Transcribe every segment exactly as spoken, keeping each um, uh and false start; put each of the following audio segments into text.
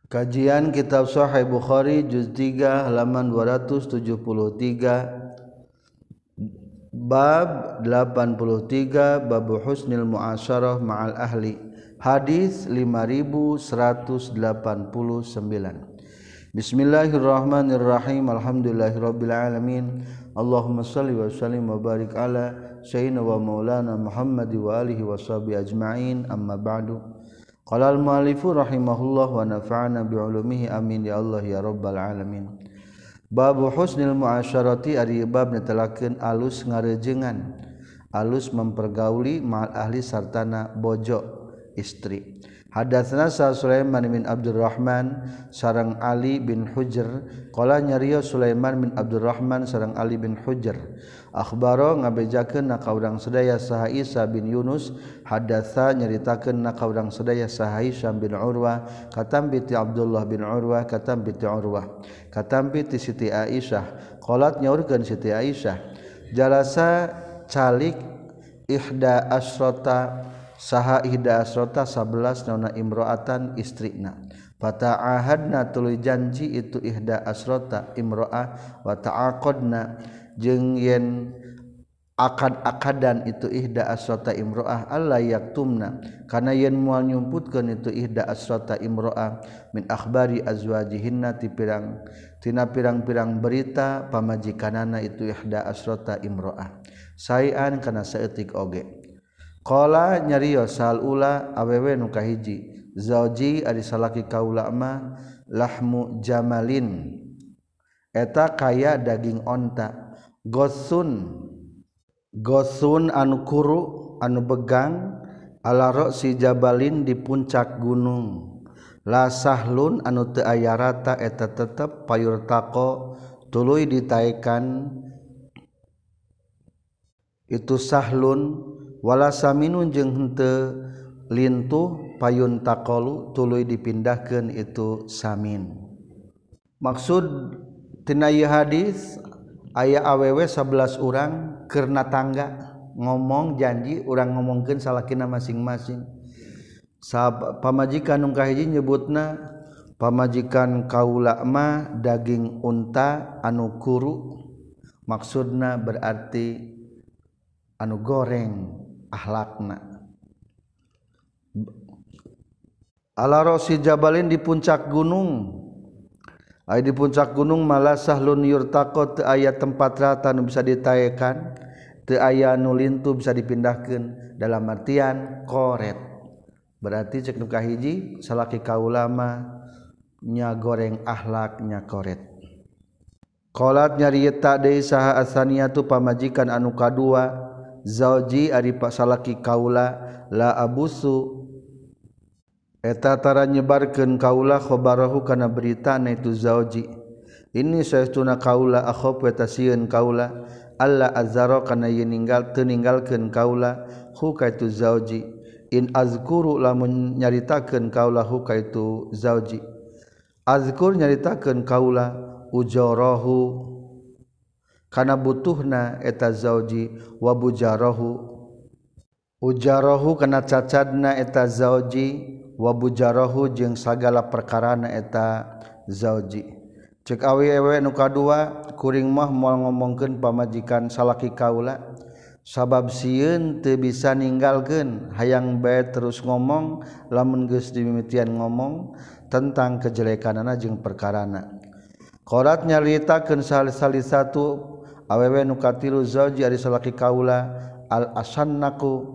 Kajian Kitab Sahih Bukhari juz tiga halaman dua ratus tujuh puluh tiga, bab delapan puluh tiga, bab husnil muasyarah ma'al ahli, hadis lima ribu seratus delapan puluh sembilan. Bismillahirrahmanirrahim. Alhamdulillahirabbil alamin. Allahumma shalli wa sallim wa barik ala sayyidina wa maulana Muhammad wa alihi washabihi ajma'in. Amma ba'du. Qala al-mu'allifu rahimahullah wa nafa'ana bi'ulumihi amin ya Allah ya rabbal alamin. Bab husnil muasyarati ari bab netelakeun alus ngarejengan, alus mempergauli ma'al ahli sartana bojo istri. Hadatsana sa Sulaiman bin Abdurrahman sareng Ali bin Hujr qala nyarios Sulaiman bin Abdurrahman sareng Ali bin Hujr akhbaro ngabejakeun ka urang sadaya saha Isa bin Yunus hadatsa nyaritakeun ka urang sadaya saha Hisham bin Urwah katambi ti Abdullah bin Urwah katambi ti Urwah katambi ti Siti Aisyah qalat nyaurkeun Siti Aisyah jalasa calik ihda asrota saha ihda asrota sebelas nauna imro'atan istrina fata'ahadna tuluy janji itu ihda asrota imro'ah wa ta'aqadna jeung yen akad-akadan itu ihda asrota imro'ah alla yaktumna kana yen moal nyumputkeun itu ihda asrota imro'ah min akhbari azwajihinna ti pirang tina pirang-pirang berita pamajikanana itu ihda asrota imro'ah saean kana saeutik oge. Qala nyarios sal ula awewe nu kahiji zauji ari salaki kaula mah lahmu jamalin eta kaya daging onta gosun gosun anu kuru anu begang ala ra'si jabalin di puncak gunung la sahlun anu teu aya rata eta tetep payur tako tuluy ditaekan itu sahlun wala saminun jeung henteu lintuh payun taqalu tuluy dipindahkeun itu samin. Maksud tina ieu hadis aya awewe sebelas urang keur natangga ngomong janji urang ngomongkeun salakina masing-masing. Sab pamajikan nu kahiji nyebutna pamajikan kaula mah daging unta anu kuru maksudna berarti anu goreng akhlakna ala rosi jabalin di puncak gunung ay di puncak gunung malah sahlun yurtaqo teu aya tempat rata nu bisa ditaekan teu aya nu lintu bisa dipindahkeun dalam artian koret berarti cek nu kahiji salaki kaula mah nya goreng akhlak nya koret. Qalat nyarieta deui saha asaniyatu pamajikan anu kadua zauji ari salaki kaula la abusu eta tara nyebarkeun kaula khabarahu kana berita na itu zauji ini saestuna kaula akhaf eta sieun kaula alla azara kana ye ninggal teu ninggalkeun kaula hu ka itu zauji in azkuru lamun nyaritakeun kaula hu ka itu zauji azkur nyaritakeun kaula ujarahu kana butuhna eta zauji wa bujarahu ujarahu kana cacadna eta zauji wa bujarahu jeung sagala perkarana eta zauji. Cek awewe nu kadua kuring mah moal ngomongkeun pamajikan salaki kaula sabab sieun teu bisa ninggalkeun hayang bae terus ngomong lamun geus dimimitian ngomong tentang kejelekanana jeung perkarana. Qarat nyaritakeun sali-sali satu awewe nu katilu zauji ari salaki kaula al asannaku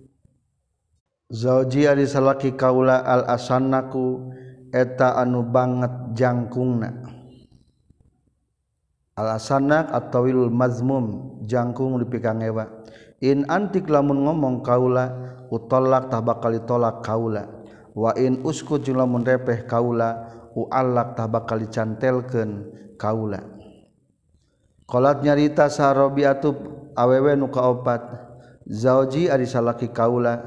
zauji ari salaki kaula al asannaku eta anu banget jangkungna al asannak at-tawilul mazmum jangkung dipikangewa in antik lamun ngomong kaula utallak tah bakal ditolak kaula wa in uskut jeung lamun repeh kaula uallak tah bakal dicantelkeun kaula. Qalat nyarita sarobiatu awewe nu kaopat zauji ari salaki kaula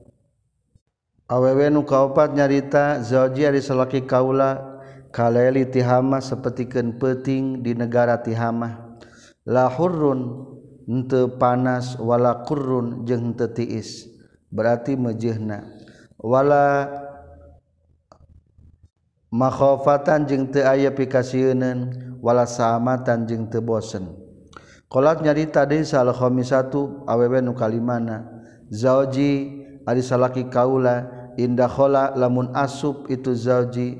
awewe nu kaopat nyarita zauji ari salaki kaula kalaili tihama sapertikeun peuting di negara Tihamah la hurrun henteu panas wala qurrun jeung henteu tiis berarti mejehna wala makhofatan jeung teu aya pikasieun wala saamatan jeung teu bosen. Qalat nyarita deui sal khamisatu awewe nu kalimana zauji ari salaki kaula indah khola lamun asup itu zauji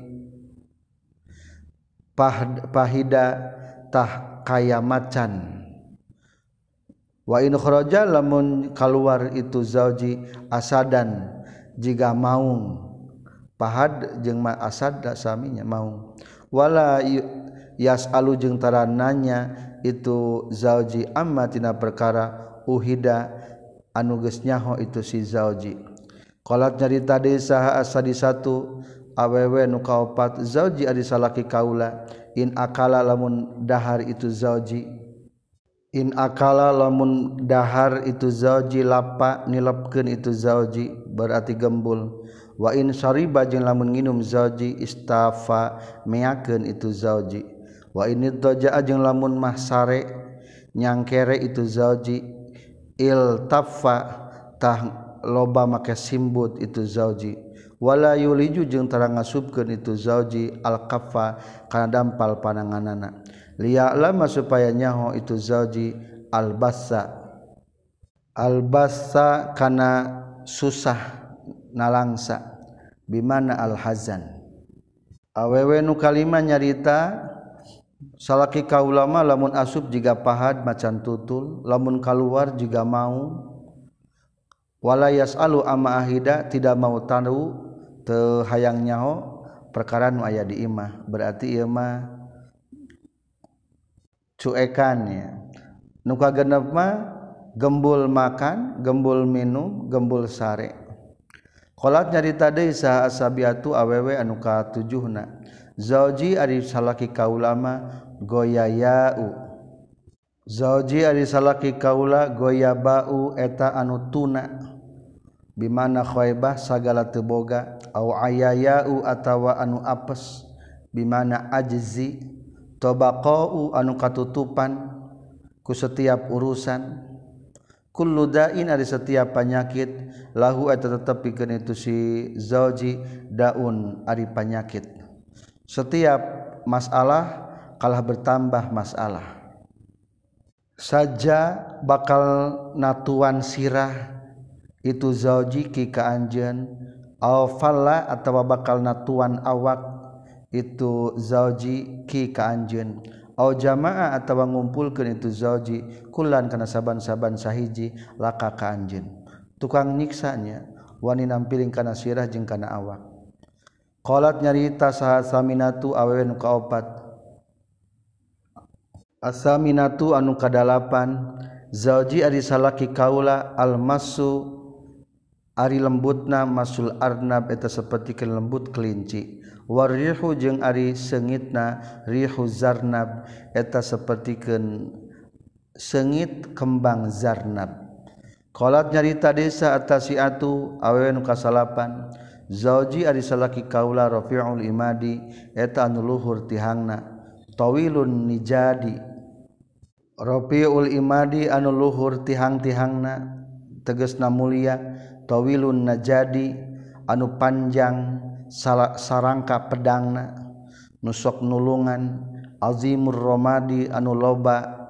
pah, pahida tah kaya macan wa in kharaja lamun keluar itu zauji asadan jiga maung pahad jeung ma asad da saminya maung wala yasalu jeung tarananya itu zauji amma tina perkara uhida anu geus nyaho itu si zauji. Qalat nyarita deui saha asadi satu awewe nu kaopat zauji ari salaki kaula in akala lamun dahar itu zauji in akala lamun dahar itu zauji lapa nilepkeun itu zauji berarti gembul wa in syariba jeung lamun nginum zauji istafa meakeun itu zauji wa in idja jeung lamun mah sare nyangkere itu zauji il taffa tah loba make simbut itu zauji wala yuliju jeung tara ngasupkeun itu zauji al kaffa kana dampal pananganana liya lama supaya nyaho itu zauji al bassa al bassa kana susah nalangsa bimana al hazan awewe nu kalima nyarita salaki kaulama lamun asup jiga pahad macan tutul lamun kaluar jiga mau wala yasalu amma ahida tidak mau tahu teu hayang nyaho perkara nu aya di imah berarti ieu mah cuekan ya nu kagenep mah gembul makan gembul minum gembul sare. Qalat nyarita deui saha asabiatu awewe anu katujuhna zauji ari salaki kaulama goyayau zauji ari salaki kaula goyabau eta anu tuna bimana khaybah sagala teu boga au ayayau atawa anu apes bimana ajzi tabaqau anu katutupan ku setiap urusan kullu dain ari setiap penyakit lahu eta tetep pikeun itu si zauji daun ari penyakit setiap masalah kalah bertambah masalah saja bakal natuan sirah itu zauji ki ka anjeun aw falla atawa bakal natuan awak itu zauji ki ka anjeun aw jamaah atawa ngumpulkeun itu zauji kulan kana saban-saban sahiji laka ka anjeun tukang nyiksanya wani nampiling kana sirah jeung kana awak. Qalat nyarita saha saminatu awewe nu kaopat asaminatu anu kadalapan zauji ari salaki kaula almasu ari lembutna masul arnab eta sapertikeun lembut kelinci warihu jeung ari seungitna rihu zarnab eta sapertikeun seungit kembang zarnab. Qalat nyarita desa atasiatu awewe nu kasalapan zauji ari salaki kaula rafi'ul imadi eta anu luhur tihangna tawilun nijadi rafi'ul imadi anu luhur tihang-tihangna tegasna mulia tawilun najadi anu panjang sarangka pedangna nusok nulungan azimur romadi anu loba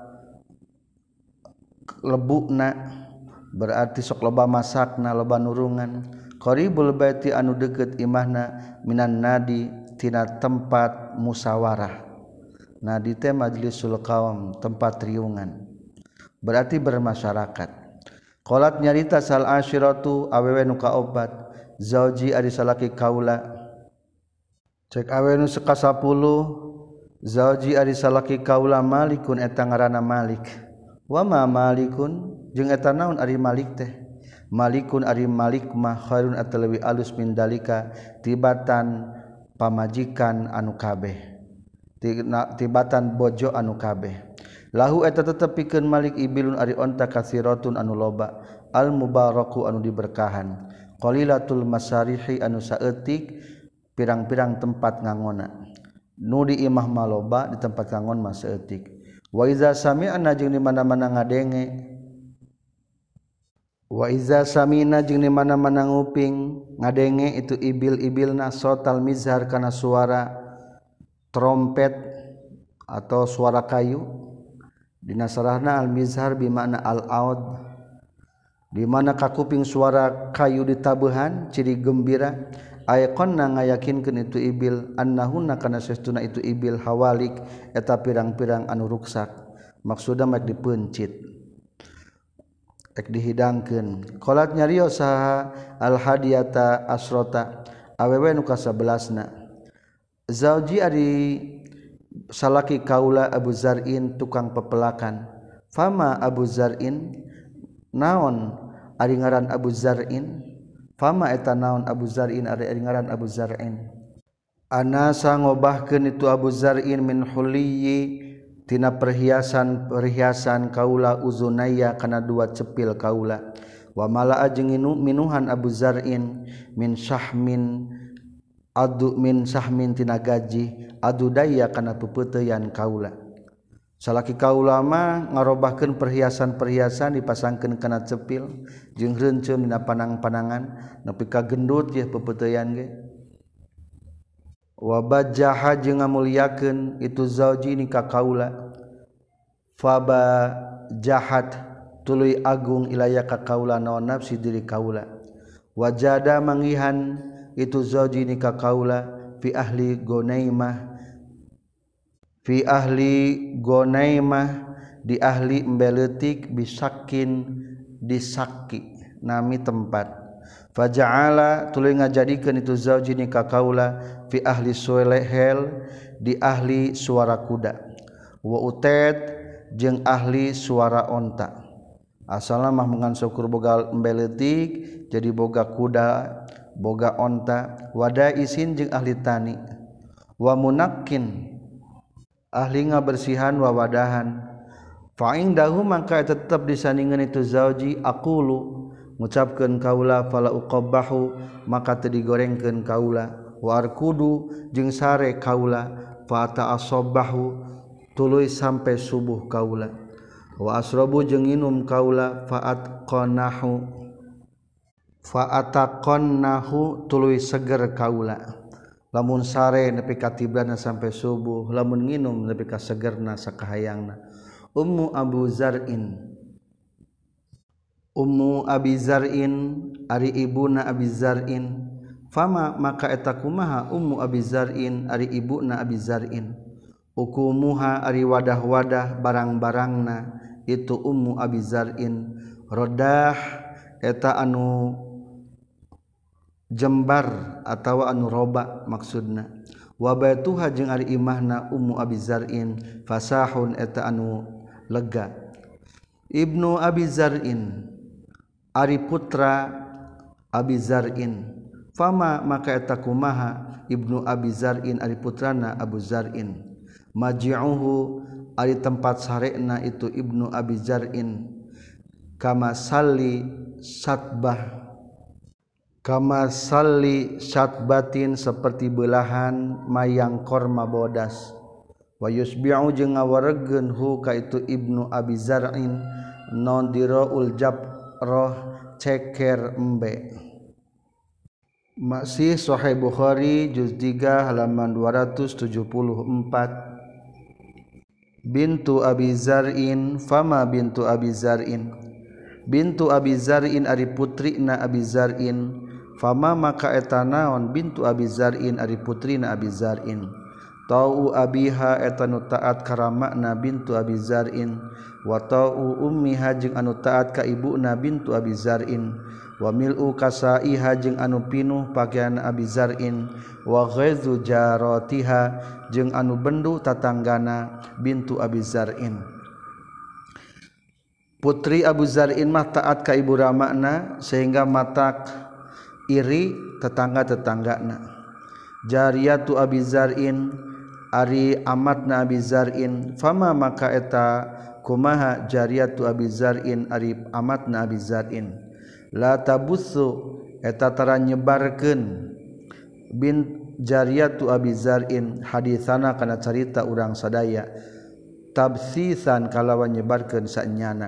lebukna berarti sok loba masakna loba nurungan qaribul baiti anu deukeut imahna minan nadi tina tempat musawarah nadi teh majlisul qaum tempat riungan berarti bermasyarakat. Qalat nyarita sal asyiratu awewe nu kaopat zauji ari salaki kaula cek awewe nu sakasapuluh zauji ari salaki kaula malikun eta ngaranna malik wa ma malikun jeung eta naon ari malik teh malikun ari malik mah khairun eta leuwih alus min dalika tibatan pamajikan anu kabeh tibatan bojo anu kabeh lahu eta tetep pikeun malik ibilun ari onta kasiratun anu loba al mubaraku anu diberkahan qalilatul masarihi anu saeutik pirang-pirang tempat ngangona nu di imah maloba di tempat ngangon mah saeutik wa iza sami'na jeung di mana-mana ngadenge Wa iza samina jeung di mana-mana nguping ngadenge itu ibil-ibilna sotal mizhar kana suara trompet atau suara kayu dina sarahna al mizhar bimakna al aud di mana kakuping suara kayu ditabuhan ciri gembira ayqonna ngayakinkeun itu ibil annahunna kana sestuna itu ibil hawalik eta pirang-pirang anu ruksak maksudna mek dipencit ek dihidangkeun qalat nyarios saha al hadiyata asrota awewe nu kasabelasna zauji ari salaki kaula Abu Zar'in tukang pepelakan fama Abu Zar'in naon ari ngaran Abu Zar'in fama eta naon Abu Zar'in ari ngaran Abu Zar'in ana sangobahkeun itu Abu Zar'in min huliyyi tina perhiasan perhiasan kaula uzunaya kana dua cepil kaula wa malaa jeung minuhan Abu Zar'in min syahmin adu min sahmin tina gaji adu daya kana pepeuteyan kaula salaki kaula mah ngarobahkeun perhiasan-perhiasan dipasangkeun kana cepil jeung reunceum dina panang-panangan nepi ka gendut ye pepeuteyan ge wa bajjaha jeung ngamulyakeun itu zauji ni ka kaula faba jahat tuluy agung ilaya ka kaula naon nafsi diri kaula wajada mangihan itu zauji ni ka kaula fi ahli gonaimah fi ahli gonaimah di ahli embeleutik bisakin disaki nami tempat faja'ala tuluy ngajadikeun itu zauji ni ka kaula fi ahli suelehel di ahli suara kuda wa utet jeung ahli suara onta asalna mah mengan syukur boga embeleutik jadi boga kuda boga onta wada isin jeung ahli tani wa munakkin ahli ngabersihan wa wadahan fa indahu mangka tetep disandingeun itu zauji aqulu ngucapkeun kaula fala uqabbahu maka teu digorengkeun kaula wa arkudu jeung sare kaula fa ta'assabahu tuluy sampai subuh kaula wa asrabu jeung nginum kaula fa atqanahu fa ataqannahu tuluy seger kaula lamun sare nepi ka tibrana sampai subuh lamun nginum nepi ka segerna sakahayangna ummu Abu Zar'in Ummu Abi Zar'in ari ibuna Abi Zar'in fama maka eta kumaha Ummu Abi Zar'in ari ibuna Abi Zar'in ukumuha ari wadah-wadah barang-barangna itu Ummu Abi Zar'in rodah eta anu jembar atawa anu roba maksudna wa baituha jeung ari imahna Ummu Abi Zar'in fasahun eta anu lega Ibnu Abi Zar'in ari putra Abi Zar'in fama maka eta kumaha Ibnu Abi Zar'in ari putrana Abu Zar'in maji'uhu ari tempat sarena itu Ibnu Abi Zar'in kama salli satbah kama salli satbatin seperti belahan mayang korma bodas wa yusbi'u jeung ngawaregeun hu ka itu Ibnu Abi Zar'in non diraul jab roh ceker embe masih Sahih Bukhari juz tiga halaman dua ratus tujuh puluh empat bintu Abi Zar'in fama bintu Abi Zar'in bintu Abi Zar'in ari putrina Abi Zar'in fama maka eta naon bintu Abi Zar'in ari putrina Abi Zar'in tau abiha eta nu taat karamakna bintu Abi Zar'in wa ta'u ummiha jeung anu taat ka ibuna bintu Abi Zar'in wa mil'u kasaiha jeung anu pinuh pakaian Abi Zar'in wa ghaizu jaratiha jeung anu bendu tatanggana bintu Abi Zar'in putri Abu Zar'in mah taat ka ibu ramakna sehingga matak iri tetangga-tetanggana jariyatu Abi Zar'in ari amatna Abi Zar'in fama maka eta kumaha jariyatu Abi Zar'in ari amatna Abi Zar'in la tabussu eta tara nyebarkeun bin jariyatu Abi Zar'in hadisana kana carita urang sadaya tabsisan kalawan nyebarkeun saenyana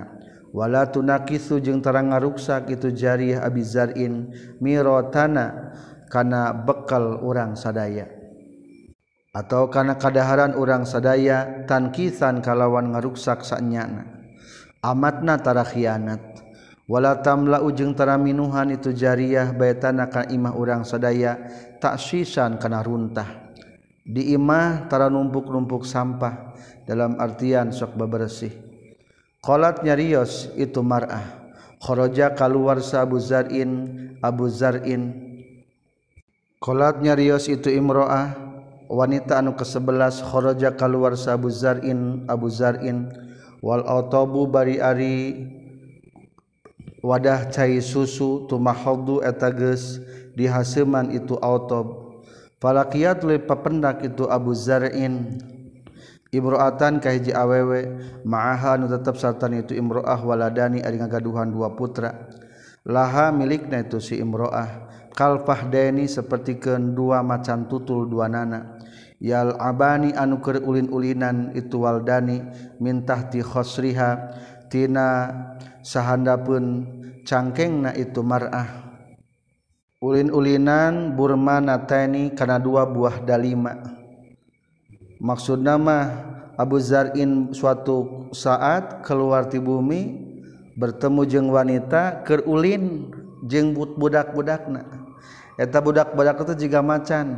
wala tunakisu jeung tarang ngaruksak itu jariyah Abi Zar'in mirotana kana bekal urang sadaya atau kana kadaharan urang sadaya tankisan kalawan ngaruksak sanyana amatna tara khianat wala tamla ujung tara minuhan itu jariyah baitana ka imah urang sadaya taksisan kana runtah di imah tara numpuk-numpuk sampah dalam artian sok bebersih. Qalat nyarios itu mar'ah kharaja kaluar sa Abu Zar'in Abu Zar'in qalat nyarios itu imro'ah wanita anu kesebelas kharaja kaluar sa Abu Zar'in Abu Zar'in wal autobu bari ari wadah cai susu tumahaddu eta geus dihaseuman itu autob falaqiyat le papendak itu Abu Zar'in imro'atan ka hiji awewe ma'aha nu tetep sartan itu imro'ah waladani ari ngagaduhan dua putra laha milikna itu si imro'ah kalfahdaini sapertikeun dua macan tutul dua nana yal abani anu keur ulin-ulinan itu waldani min tahti khosriha tina sahandapeun cangkengna itu mar'ah ulin-ulinan burmanataini kana dua buah dalima. Maksudna mah Abu Zar'in suatu saat keluar ti bumi bertemu jeung wanita keur ulin jeung budak-budakna eta budak-budak itu jiga macan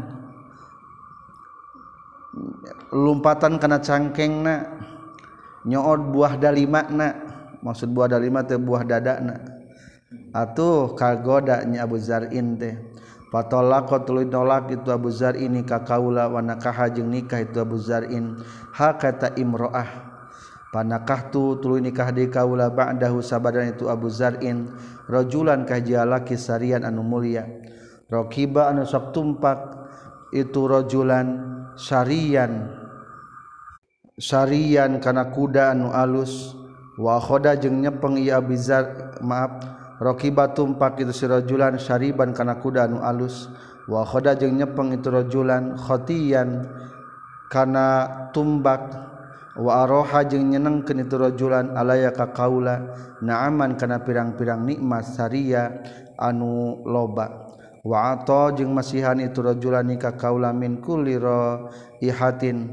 lumpatan kana cangkengna nyoot buah dalimana maksud buah dalima teh buah dadana atuh kagoda nya Abu Zar'in teh fatolaqat tuluy nolak itu Abu Zar'in ka kaula wa nakah jeung nikah itu Abu Zar'in ha kata imro'ah panakahtu tuluy nikah di kaula ba'dahu sabadan itu Abu Zar'in rajulan ka jalaki sarian anu mulia raqiba anu sok tumpak itu rajulan sarian sarian kana kuda anu alus wa khoda jeung nyepeng ieu Abu Zar maaf raqiba tumpak itu si rajulan syariban kana kuda anu alus wa khoda jeung nyepeng itu rajulan khotiyan kana tumbak wa aroha jeung nyenengkeun itu rajulan alaya ka kaula na'aman kana pirang-pirang nikmat saria anu loba wa ata jeung masihan itu rajulan ka kaula min kulli raihatin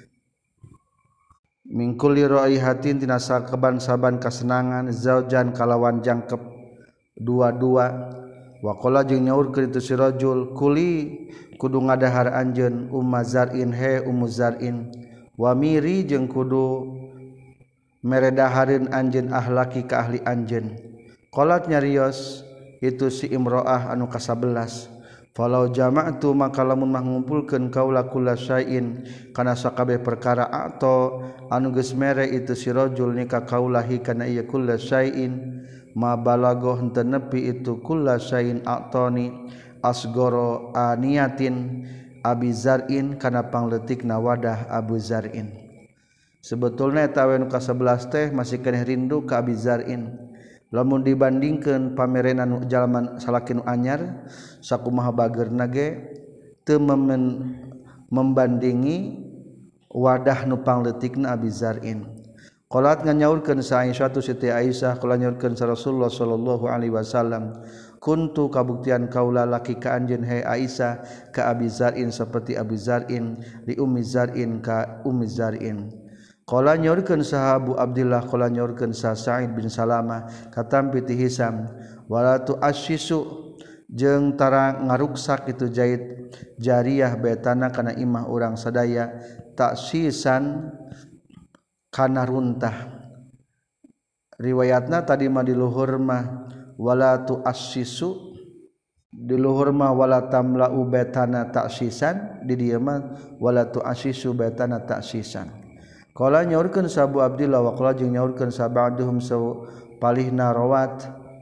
min kulli raihatin tina saban-saban kasenangan zaujan kalawan jangkep dua-dua waqala jeung nyaurkeun itu si rajul kuli kudu ngadahar anjeun Ummu Zar'in he Ummu Zar'in wa miri jeung kudu meredahareun anjeun ahlaki ka ahli anjeun qalat nyarios itu si imro'ah anu kasabelas falau jama'tu maka lamun mah ngumpulkeun kaula kullasain kana sakabeh perkara atau anu geus mere itu si rajul nikah kaulahi kana ieu kullasain ma balagoh henteu nepi itu kullasain atoni asgoro aniyatin Abi Zar'in kana pangleutikna wadah Abu Zar'in sebetulna eta we nu kasebelas teh masih keneh rindu ka Abi Zar'in lamun dibandingkeun pamerenan nu jalma salaki nu anyar sakumaha bageurna ge teu membandingi wadah nu pangleutikna Abi Zar'in. Qalat nganyaurkeun sa Aisyah tu Siti Aisyah qala nyaurkeun sa Rasulullah sallallahu alaihi wasallam kuntu kabuktian kaula laki ka anjeun he Aisyah ka Abi Zar'in saperti Abi Zar'in li Ummi Zar'in ka Ummi Zar'in. Qala nyaurkeun sa Abu Abdillah qala nyaurkeun sa Sa'id bin Salamah katampi ti Hisam wala tu asyisu jeung tara ngaruksak itu Zaid jariyah betana kana imah urang sadaya taksisan kana runtah riwayatna tadi mah di luhur mah wala tu assisu di luhur mah wala tamla'u betana taksisan di dieu mah wala tu assisu betana taksisan qala nyaurkeun sa Abu Abdillah wa qala jeung nyaurkeun sa ba'duhum sa palihna rawat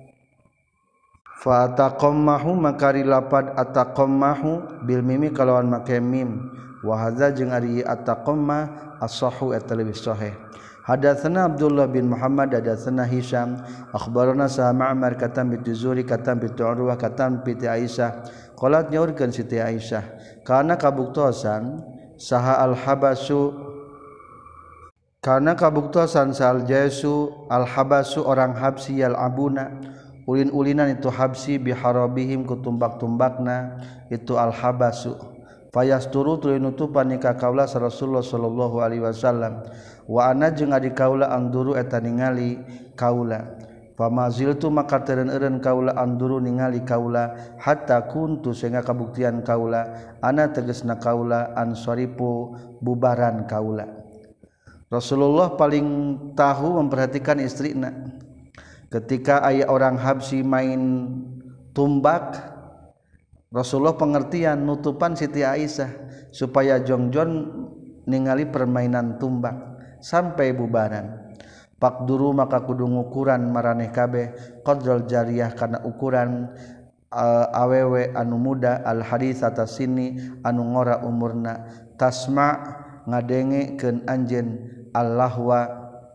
fa taqammahu makari lapad ataqammahu bil mimi kalawan make mim wa hadza jeung ari ataqamma as-sahhu eta leuwih sahih. Hadatsana Abdullah bin Muhammad hadatsana Hisham akhbarana sa Ma'mar katam bi Zuri katam bi Urwah katam bi Aisyah qalat nyaurkeun Siti Aisyah kana kabuktosan saha al-habasu karena kabuktosan sal jaisu al habasu orang habsi yal abuna ulin-ulinan itu habsi biharabihim kutumbak-tumbakna itu al habasu fayasturu tuluy nutupan ka kaula Rasulullah sallallahu alaihi wasallam wa ana jeung adi kaula anduru eta ningali kaula famaziltu maka teureun-eureun kaula anduru ningali kaula hatta kuntu sehingga kabuktian kaula ana tegasna kaula ansaripu bubaran kaula. Rasulullah paling tahu memperhatikan istrina. Ketika aya orang habsi main tumbak, Rasulullah pengertian nutupan Siti Aisyah supaya jongjon ningali permainan tumbak sampai bubaran. Pakduru maka kudu ngukuran maraneh kabeh qadral jariyah kana ukuran uh, awewe anu muda al hadits atas sini anu ngora umurna tasma ngadengekeun anjeun Allahwa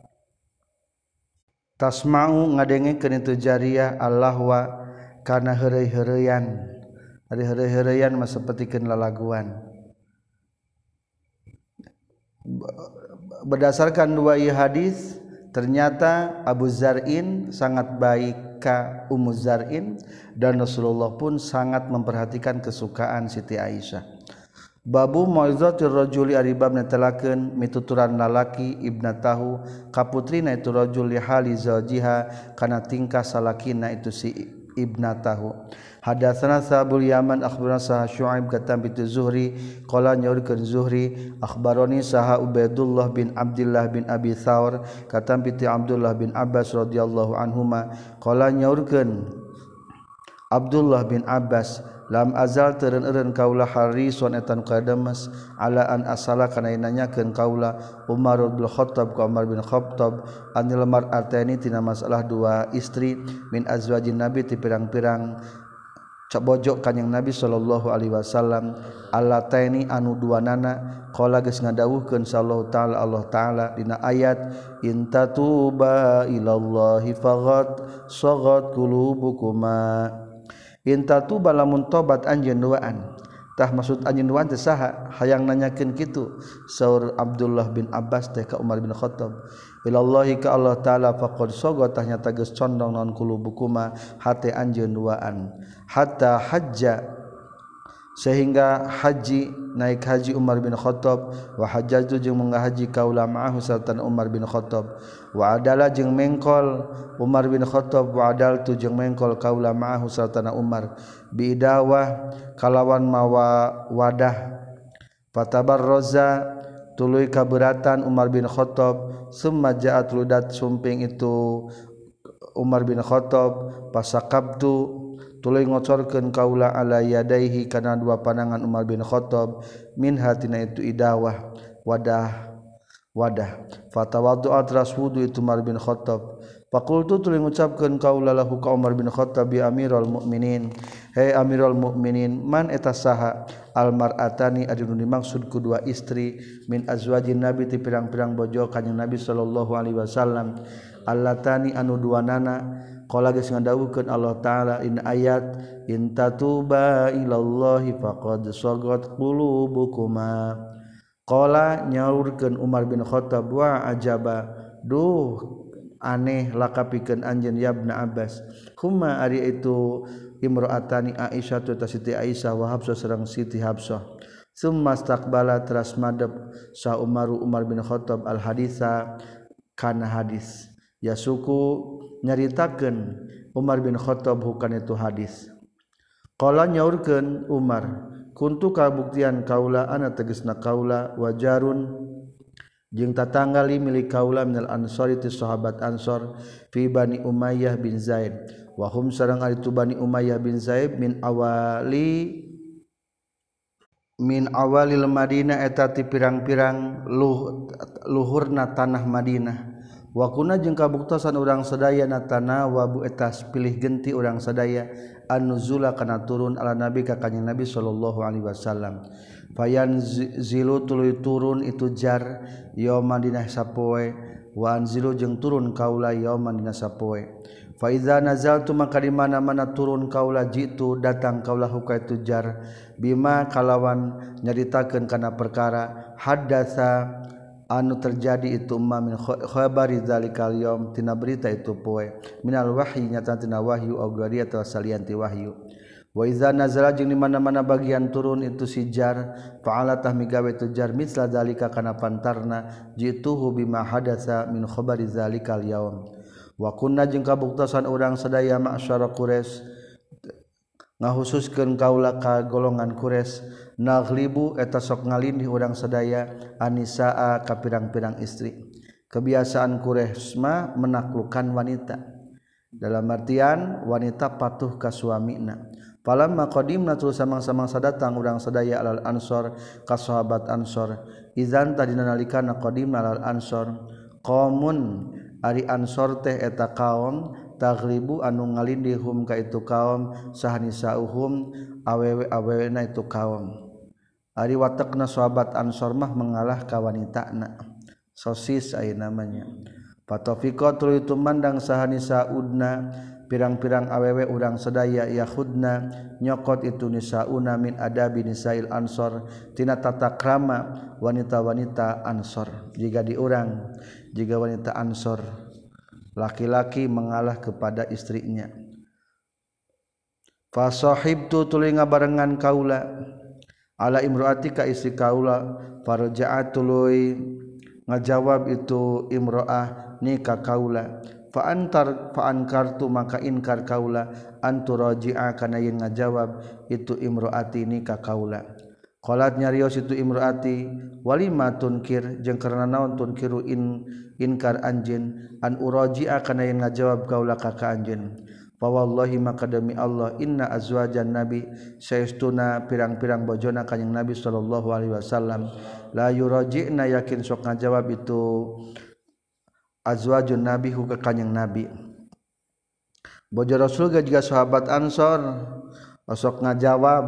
tasma'u ngadengekeun itu jariyah Allahwa kana heureuy-heureuyan ari heureuy-heureuyan mah sapertikeun lalaguan. Berdasarkan dua ieu hadis ternyata Abu Zar'in sangat baik ka Ummu Zar'in dan Rasulullah pun sangat memperhatikan kesukaan Siti Aisyah. Babu mau'izatir rajuli ari bab netelakeun mituturan lalaki ibnatahu kaputrina itu rajul li hali zawjiha kana tingkah salakina itu si ibnatahu. Hadatsana Sabul Yaman akhbarana Sah Syuaib katam bi Zuhri qala nyaurkeun Zuhri akhbaroni Sah Ubaidullah bin Abdullah bin Abi Thawr katam bi Abdullah bin Abbas radhiyallahu anhuma qala nyaurkeun Abdullah bin Abbas lam azal teureun-eureun kaula harison etan kadamas ala an asala kana nanyakeun kaula Umar bin Khattab ka Umar bin Khattab anil mar'ataini tina masalah dua istri min azwajin nabi ti pirang-pirang cabojok kanjing Nabi sallallahu alaihi wasallam allataini anu duanana qala geus ngadawuhkeun sallallahu taala Allah taala dina ayat intatuba ilallahi faghat sagat qulubukuma intatuba lamun tobat anjeun duaan tah maksud anjeun duaan teh saha hayang nanyakeun kitu saur Abdullah bin Abbas teh ka Umar bin Khattab ilallahi ka Allah taala faqad sagat tah nyata geus condong naon qulubukuma hate anjeun duaan hatta hajja sehingga haji naik haji Umar bin Khattab wa hajjatu jeung manghaji kaula ma'ahu sarta Umar bin Khattab wa adala jeung mengkol Umar bin Khattab wa adaltu jeung mengkol kaula ma'ahu sarta Umar bidawah kalawan mawa wadah fatabarraza tuluy kaberatan Umar bin Khattab summa ja'at ludat sumping itu Umar bin Khattab pasakabtu tuluy ngocorkeun kaula ala yadaihi kana dua panangan Umar bin Khattab min hatina itu idawah wadah wadah fatawaddu'at raswudu itu Umar bin Khattab faqultu tuluy ngucapkeun kaula lahu ka Umar bin Khattab bi amirul mukminin he amirul mukminin man eta saha al mar'atani anu dimaksud ku dua istri min azwajin nabi ti pirang-pirang bojo kanjing Nabi sallallahu alaihi wasallam allatani anu duanana qala geus ngadawuhkeun Allah taala in ayat in tatuba ilallahi faqad sagat qulubukuma qala nyaurkeun Umar bin Khattab wa ajaba duh aneh lakapikeun anjeun ya Ibnu Abbas huma ari itu imro'atani Aisyah tu Siti Aisyah wa Hafsah sareng Siti Hafsah summa istaqbala teras madep sa Umar Umar bin Khattab al haditsa kana hadis ya suku nyaritakeun Umar bin Khattab bukan itu hadis qala nyaurkeun Umar kuntu kabuktian kaula ana tegasna kaula wajarun jeung tatanggali milik kaula minal ansari ti sahabat ansor fi Bani Umayyah bin Zaid wa hum sareng ari tu Bani Umayyah bin Zaid min awali min awalil Madinah eta ti pirang-pirang luh, luhurna tanah Madinah wa kuna jeung kabuktosan urang sadaya natana wa bu etas pilih genti urang sadaya an-nuzula kana turun ala nabi ka kanjing Nabi sallallahu alaihi wasallam fayan zilu tuluy turun itu jar yauma dina sapoe wa anzilu jeung turun kaula yauma dina sapoe fa iza nazaltu maka di mana-mana turun kaula jitu datang kaula huka itu jar bima kalawan nyaritakeun kana perkara haddatsa anu terjadi itu ma min khabari dzalikal yaum tina berita itu poe minal wahyi nyata tina wahyu au gharia atau salianti wahyu wa iza nazala jeung di mana-mana bagian turun itu si jar fa'ala tah migawe tu jar misla dzalika kana pantarna jituhu bima hadatsa min khabari dzalikal yaum wa kunna jeung kabuktosan urang sadaya ma'syara quraisy ngahususkeun kaula ka golongan Quraisy naghlibu eta sok ngalindih urang sadaya anisaa ka pirang-pirang istri. Kebiasaan Quraisy mah menaklukkan wanita. Dalam artian wanita patuh ka suamina. Falamma qadimna tu samang-samang sadatang urang sadaya alal ansor ka sahabat ansor. Izan tadina nalikana qadimna alal ansor qaumun ari ansor teh eta kaum taghlibu anu ngalindihum ka itu kaum sahanisauhum awewe-awewena itu kaum ari watakna sahabat ansor mah mengalah ka wanitana sosis aya namanya fatafiqa tuluy itu mandang sahanisaudna pirang-pirang awewe urang sadaya yahudna nyokot itu nisauna min adabi nisail ansor tina tata krama wanita-wanita ansor jika di urang jika wanita ansor laki-laki mengalah kepada istrinya. Fa sahibtu tuluy ngabarengan kaula ala imraati ka istri kaula farja'at tuluy ngajawab itu imraah ni ka kaula fa antar fa ankartu maka inkar kaula anturaji'a kana yen ngajawab itu imraati ni ka kaula qalat nyarios itu imraati walima tunkir jeung karna naon tunkiru in inkar anjeun an uraji'a kana yang ngajawab kaula ka ka anjeun fa wallahi maka demi Allah inna azwajan nabi saestuna pirang-pirang bojona kanjing nabi sallallahu alaihi wasallam la yuraji'na yakin sok ngajawab itu azwajun nabi hu ka kanjing nabi bojo rasul ga juga sahabat ansor sok ngajawab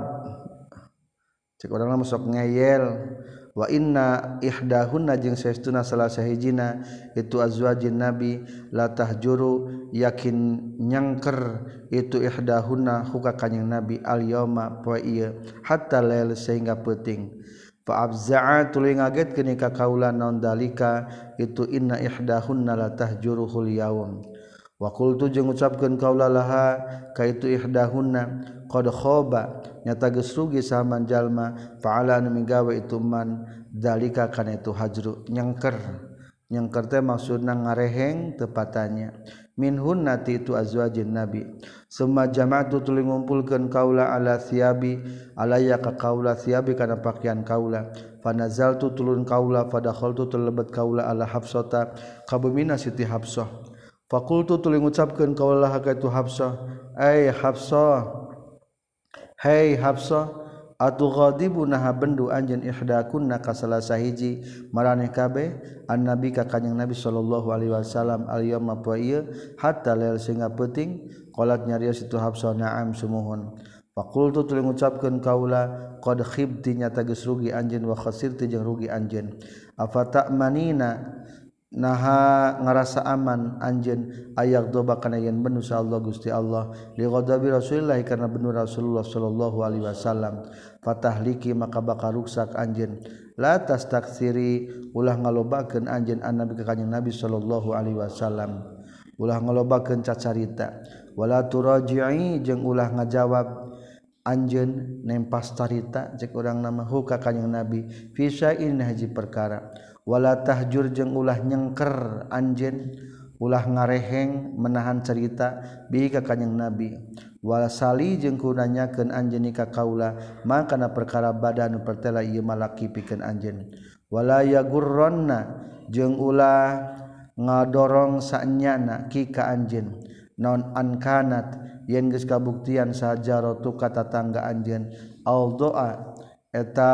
cek urang mah sok ngeyel wa inna ihdahunna jeung saestuna salah sahijina itu azwajin nabi la tahjuru yakin nyangker itu ihdahunna huka kanjing nabi al yauma poe ieu hatta lail sehingga peuting fa abza'a tuluy ngagetkeun ka kaula naon dalika itu inna ihdahunna la tahjuruhul yaum wa qultu jeung ngucapkeun kaula laha ka itu ihdahunna qad khaba nyata geus rugi saman jalma fa'ala anu migawe itu man dalika kana itu hajru nyangker nyangker teh maksudna ngareheng tepatanya minhun nati itu azwajin nabi summa jama'tu tuluy ngumpulkeun kaula ala thiyabi alaya ka kaula thiyabi kana pakaian kaula fanazaltu tulun kaula fadakhaltu tulebet kaula ala hafsata kabumina siti hafsah faqultu tuluy ngucapkeun kaula ka itu hafsah ai hafsah hai hafsah atughadibu naha bendu anjeun ihdakunna ka salah sahiji maraneh kabeh annabi ka kanjing nabi sallallahu alaihi wasallam al yauma poe ieu hatta lail sehingga peuting qalat nyarios itu hafsah na'am sumuhun faqultu tuluy ngucapkeun kaula qad khibti nyata geus rugi anjeun wa khasirti jeung rugi anjeun afata'manina naha ngarasa aman anjeun ayak doba kana yen benu sa Allah Gusti Allah li ghadabi Rasulillah karena benu Rasulullah sallallahu alaihi wasallam fatahliki maka bakal ruksak anjeun la tastaktsiri ulah ngalobakeun anjeun annabi ka kanjing Nabi sallallahu alaihi wasallam ulah ngalobakeun cacarita wala turaji'i jeung ulah ngajawab anjeun nempas carita cek urang nama hu ka kanjing Nabi fi sya'in haji perkara wala tahjur jeung ulah nyengker anjeun ulah ngareheng menahan cerita bi ka kanjing nabi wala sali jeung kunanyakeun anjeun ka kaula makana perkara badan pertela ieu malaki pikeun anjeun wala yagurronna jeung ulah ngadorong sanyana ki ka anjeun naon ankanat yen geus kabuktian sajaratu ka tatangga anjeun al doa eta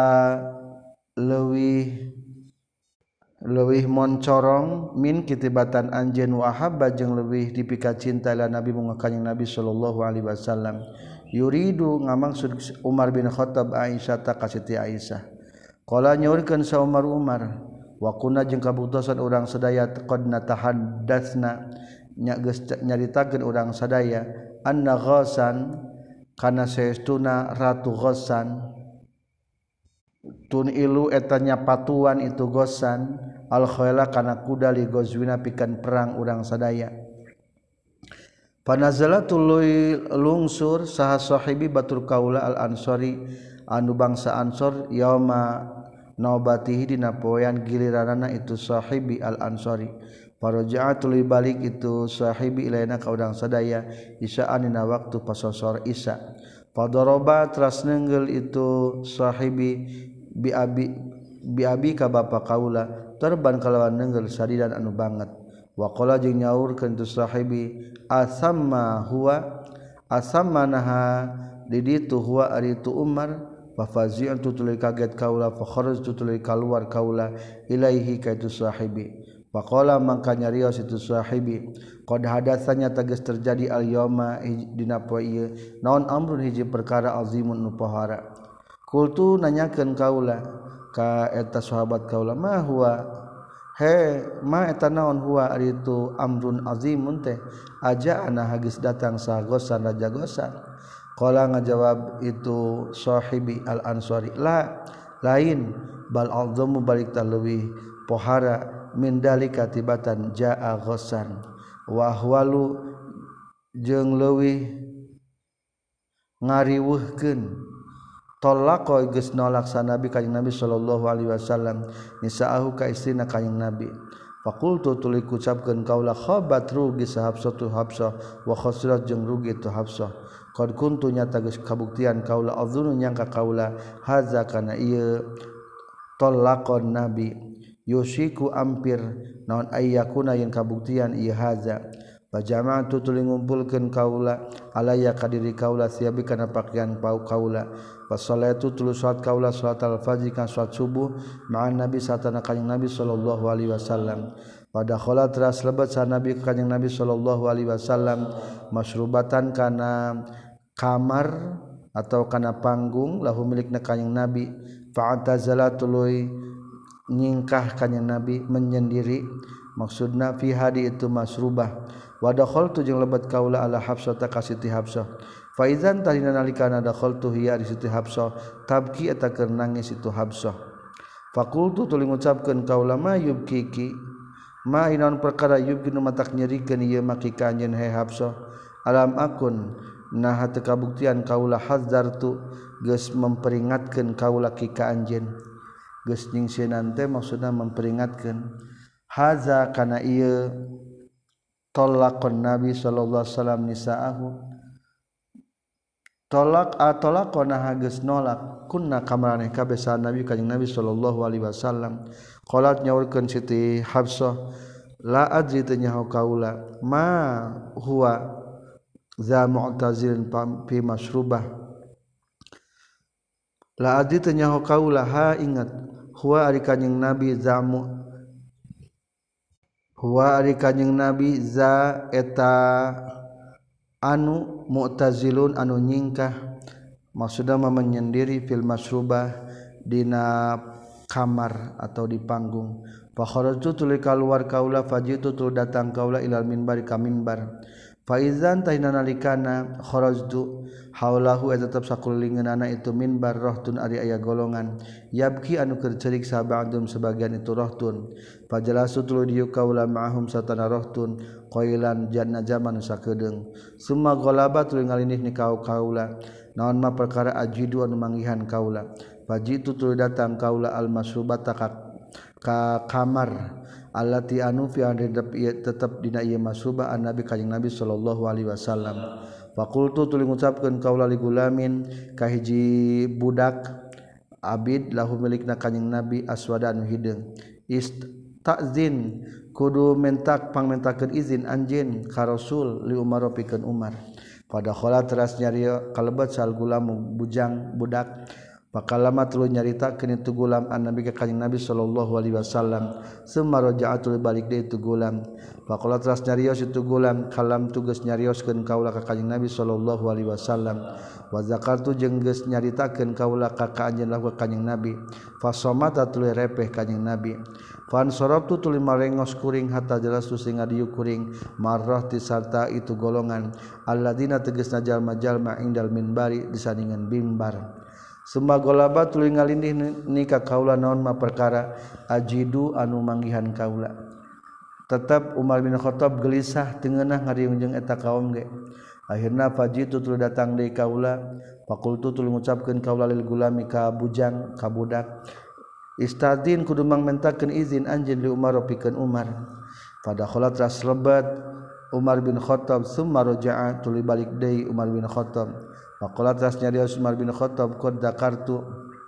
leuwih leuwih moncorong min kitibatan anjeun wa habba jeung leuwih dipika cinta ila nabi muga kanjing nabi sallallahu alaihi wasallam yuridu ngamaksud Umar bin Khattab Aisyah ta ka Siti Aisyah qala nyaurkeun sa Umar Umar wa kunna jeung kabuktosan urang sadaya qad natahaddatsna nya geus nyaritakeun urang sadaya anna ghasan kana saestuna ratu ghasan tun ilu etanya patuan itu gosan al-khayla kana kuda li gozwina pikeun perang urang sadaya. Panazala tuluy lungsur saha sahibi batur kaula al-ansori anu bangsa Ansor yauma naubatihi dina poean giliranana itu sahibi al-ansori. Paraja'a tuluy balik itu sahibi ilaina ka urang sadaya isaan dina waktu pasosor isya. Padoroba teras nenggel itu sahibi bi abi bi abi ka bapa kaula terban kalawan nenggel sadidan anu banget. Wa qala jeung nyaurkeun tu sahibi asamma huwa asamma naha di ditu huwa ari tu Umar fa fazi'an tutuluy kaget kaula fa kharajtu tutuluy kaluar kaula ilaihi ka itu sahibi fa qala mangka nyarios itu sahibi qad hadatsanya tegas terjadi al yauma dina poe ieu naon amrun hiji perkara azimun nu pohara kultu nanyakeun kaula ka eta sahabat kaula ma huwa he ma eta naon huwa ari itu amrun azimun teh aja ana hagis datang sagosan raja gosan qala ngajawab itu sahibi al ansori la lain bal azamu balik talwi pohara min dalika tibatan jaa gosan wa ahwalu jeung leuwih ngariweuhkeun tolako geus nolak sanabi kanjing Nabi sallallahu alaihi wasallam nisaahu ka istrina kanjing Nabi faqultu tuluy kucapkeun kaula khabat rugi sahabsah tu Habsah wa khasirat jeung rugi tu Habsah qad kuntu nyata geus kabuktian kaula adzunu nyangka kaula haza kana ieu tolakon Nabi yushiku ampir naon ayyakuna yen kabuktian ieu haza pajama'tu tuluy ngumpulkeun kaula alaya kadiri kaula siabi kana pakaian pau kaula Fasalatu tulu salat kaula salat al-fajr kan salat subuh ma'an Nabi satana kanjing Nabi sallallahu alaihi wasallam. Pada khala teras lebat sa Nabi kanjing Nabi sallallahu alaihi wasallam masrubatan kana kamar atau kana panggung lahu milikna kanjing Nabi fa'tazala tuluy nyingkah kanjing Nabi menyendiri maksudna fi hadi itu masrubah wa dakhaltu jeung lebat kaula ala Hafsah ta kasiti Hafsah faizan tarina nalikana dakhaltu hiya di situ Habsah tabki eta keur nangis itu Habsah faqultu tuluy ngucapkeun kaula ma yubkiki ma inaun perkara yubki nu matak nyerikeun ieu maki ka anjeun he Habsah alam akun nah teu kabuktian kaula hadzartu geus memperingatkeun kaula ki ka anjeun geus ningsieun teh maksudna memperingatkeun haza kana ieu tolakon Nabi sallallahu alaihi wasallam nisaahu tolak atolakona hageus nolak kunna kamarane kabeh sa Nabi kanjing Nabi sallallahu alaihi wasallam qalat nyaurkeun Siti Habsah la adri teu nyaho kaula ma huwa za mu'tazilin fi masrubah la adri teu nyaho kaula ha ingat huwa ari kanjing Nabi zamu huwa ari kanjing Nabi za eta anu mu'tazilun anu nyingkah maksudna menyendiri fil masrubah dina kamar atau di panggung fa kharajtu tuluy kaluar kaula fajitu tuluy datang kaula ilal minbar ka minbar fa idzan tahina nalikana kharajtu haulahu eta tetep sakulingeunana itu minbar rohtun ari aya golongan yabki anu keur ceurik sabadum sebagian itu rohtun fajalasu tuluy dieu kaula ma'ahum satana rohtun qailan janna zaman sakedeung summa ghalaba tuluy ngalinih ni kaula naon mah perkara ajidu anu manggihan kaula fajitu tuluy datang kaula al masrubata ka, ka kamar allati anu fi tetep dina ieu masrubah an Nabi kanjing Nabi sallallahu alaihi wasallam faqultu tuluy ngucapkeun kaula li gulamin ka hiji budak abid lahu milikna kanjing Nabi aswada anu hideung istazin kudu mentak pangmentakeun izin anjeun ka Rasul li Umar pikeun Umar pada khala teras nyari kalebat sal gulam bujang budak pakalama tuluy nyaritakeun itu gulam an Nabi ka kanjing Nabi sallallahu alaihi wasallam summa raja'atul balik deui itu gulam faqala teras nyarios itu gulam kalam tugas nyarioskeun kaula ka kanjing Nabi sallallahu alaihi wasallam wa zakartu jeung geus nyaritakeun kaula ka anjeun lahu ka kanjing Nabi fasomata tuluy repeh kanjing Nabi fan sorabtu tuluy marengos kuring hatta jelas tu sing adieu kuring marrah ti sarta itu golongan alladzina tegasna jalma-jalma indal minbari disandingan mimbar Summa golaba tuluy ngalindih ni ka kaula naon ma perkara ajidu anu manggihan kaula. Tetap Umar bin Khattab gelisah teu ngeunah ngariung jeung eta kaum ge. Akhirna fajitu tuluy datang deui kaula, faqultu tuluy ngucapkeun kaula lil gulami ka bujang ka budak. Istadin kudu mangmentakeun izin anjeun li Umar pikeun Umar. Pada kholat ras lebat Umar bin Khattab summa raja'a tuluy balik deui Umar bin Khattab. Faqala tas nyarios Umar bin Khattab qad dakartu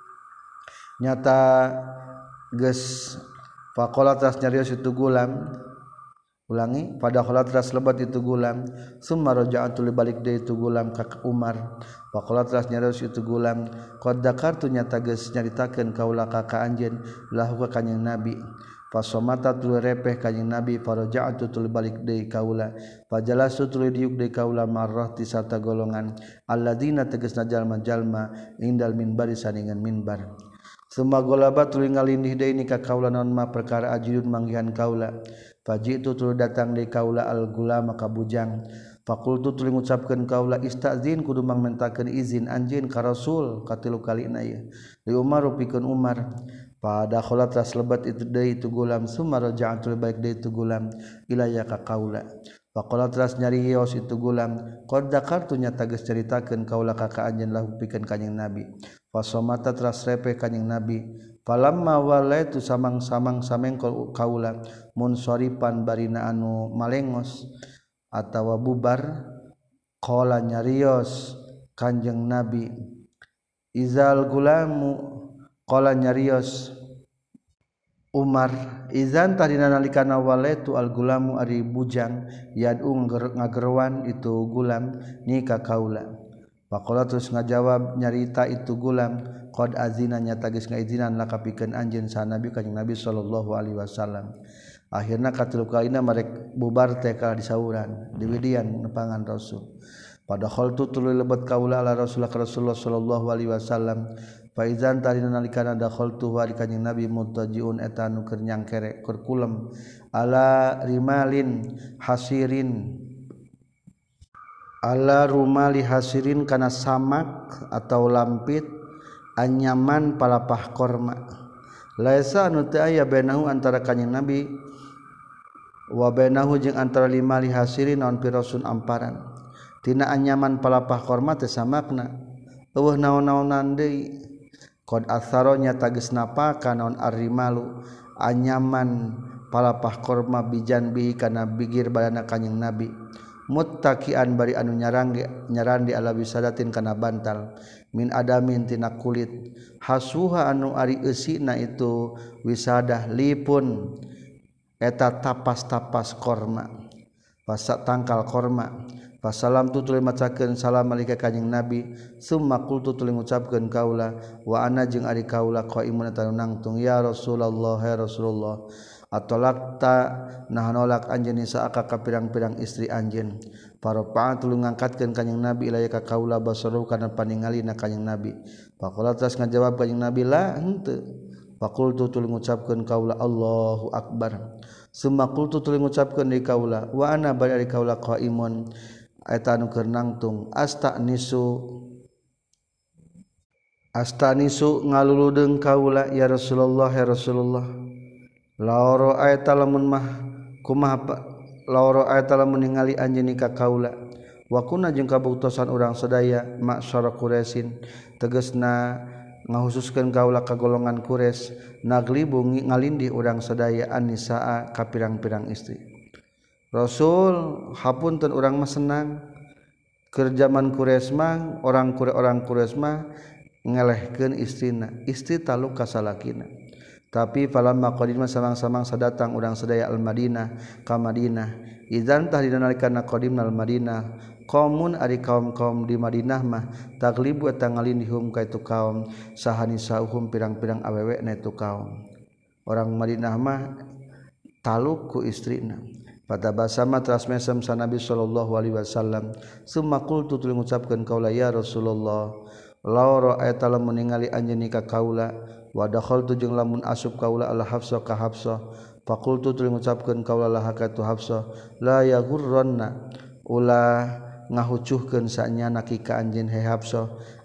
nyata geus faqala tas nyarios itu gulam ulangi pada kholat ras lebat itu gulam summa raja'a tuluy balik deui itu gulam ka Umar. Faqala tas nyarios itu gulam qad dakartu nyata geus nyaritakeun kaula ka ka anjeun lahu ka kanjing Nabi. Fasomata tuluy repeh kanjing Nabi faraja'tu tuluy balik deui kaula fajalasu tuluy diuk deui kaula marrah ti sarta golongan alladzina tegasna jalma-jalma indal minbar saningan minbar. Summa golaba tuluy ngalindih deui ni ka kaula naon ma perkara ajidun manggihan kaula fajitu tuluy datang deui kaula al gulama ka bujang faqultu tuluy ngucapkeun kaula istazin kudu mangmentakeun izin anjeun ka Rasul katilu kalina ieu li Umar pikeun Umar. Pada kholat ras lebat itu deui itu gulam summa raja'tu baik deui itu gulam ilayya ka kaula. Faqala ras nyarios itu gulam qad dakartu nyata geus caritakeun kaula ka ka anjeun lahu pikeun kanjing Nabi. Fasomata ras repeh kanjing Nabi. Falamma walaitu samang-samang samengkol kaula munsoripan barina anu malengos atawa bubar qala nyarios kanjing Nabi izal gulamu qala nyarios Umar izan tadina nalikana walaitu al gulamu ari bujang yad'u ngagerwan itu gulam ni ka kaula. Faqala terus ngajawab nyarita itu gulam qad azina nyata geus ngaizinan laka pikeun anjeun sa Nabi kanjing Nabi sallallahu alaihi wasallam. Akhirna katilu kalina marek bubar teh ka disauran diwidian nepangan Rasul. Pada khaltu tuluy lebet kaula ala Rasulullah Rasulullah sallallahu alaihi wasallam. Faizan tarina nalikana dakhaltu wa kanjing Nabi mutajiun eta nu keur nyangkere keur kulem ala rimalin hasirin ala rumali hasirin kana samak atau lampit anyaman palapah korma laisa anu teu aya bainahu antara kanjing Nabi wa bainahu jeung antara limali hasirin naon pirasun amparan tina anyaman palapah korma teh samakna eueuh naon-naonan deui. Qad atharonya tages napaka naon arrimalu anyaman palapah korma bijan bihi kana bigir badana kanjing Nabi muttaqian bari anu nyarangge nyarandi ala bisadatin kana bantal min adamin tina kulit hasuha anu ari eusina itu wisadah lipun eta tapas-tapas korma pasak tangkal korma. Passalam tu tuluy macakeun salam alika kanjing Nabi summa qultu tuluy ngucapkeun kaula wa ana jeung ari kaula qaimun eta nangtung ya Rasulullah ya Rasulullah atolakta nah nolak anjeun saaka ka pirang-pirang istri anjeun paropa tuluy ngangkatkeun kanjing Nabi ilaya ka kaula basaru kana paningalina kanjing Nabi faqala tas ngajawab kanjing Nabi la henteu faqultu tuluy ngucapkeun kaula Allahu akbar summa qultu tuluy ngucapkeun deui kaula wa ana bari ari kaula qaimun eta anu keur nangtung astanisu astanisu ngaluludeung kaula ya Rasulullah ya Rasulullah laoro ayata lamun mah kumaha laoro ayata lamun ningali anjeun ka kaula wa kunna jeung kabuktosan urang sadaya ma'syara Quraisyin tegasna ngahususkeun kaula ka golongan Quraisy naglibu ngalindih urang sadaya annisaa ka pirang-pirang istri. Rasul hapunten urang mah senang keur zaman Quraisy mah orang orang Quraisy mah ngelehkeun istrina istri taluk ka salakina tapi falamma qadima samang-samang sadatang urang sadaya al Madinah ka Madinah idzan tah dina nalikana qadimna al Madinah qaumun ari kaum-kaum di Madinah mah taglibu eta ngalindihum ka itu kaum sahanisauhum pirang-pirang awewena itu kaum orang Madinah mah taluk ku istrina. Pada basama teras mesem sa Nabi sallallahu alaihi wasallam summa qultu tuluy ngucapkeun kaula ya Rasulullah law ra'aita lamun ningali anjeun ka kaula wa dakhaltu jeung lamun asup kaula ala Hafsah ka Hafsah faqultu tuluy ngucapkeun kaula laha ka tu Hafsah la yaghurranna ulah ngahucuhkeun sanyana ki ka anjeun he Hafsah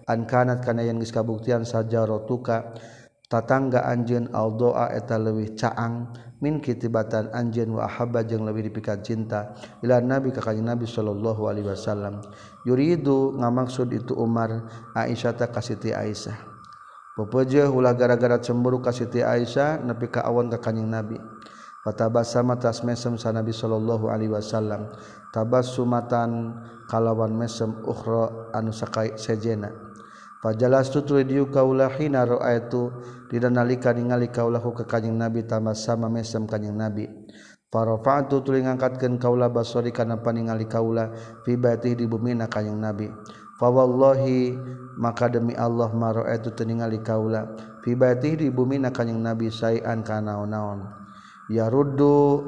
an kanat kana yang geus kabuktian sajaratuka tatangga anjeun al doa eta leuwih caang min kitibatan anjeun wa ahabba jeung leuwih dipikat cinta ila nabi ka kanjing nabi sallallahu alaihi wasallam yuridu ngamaksud itu Umar Aisyah ta ka Siti Aisyah pepeujeuh ulah gara-gara cemburu ka Siti Aisyah nepi ka awan ka kanjing nabi fatabasama tas mesem sa nabi sallallahu alaihi wasallam tabassumatan kalawan mesem ukhra anu sakai sejena fajalastu tulidiu kaulah hina ra'aitu dina nalika ningali kaulahu ka kanjing nabi tabassama mesem kanjing nabi farafa'tu tuluy ngangkatkeun kaulah basori kana paningali kaulah fi baiti di bumina kanjing nabi fa wallahi maka demi Allah ma ra'aitu teu ningali kaulah fi baiti di bumina kanjing nabi saean kana naon ya ruddu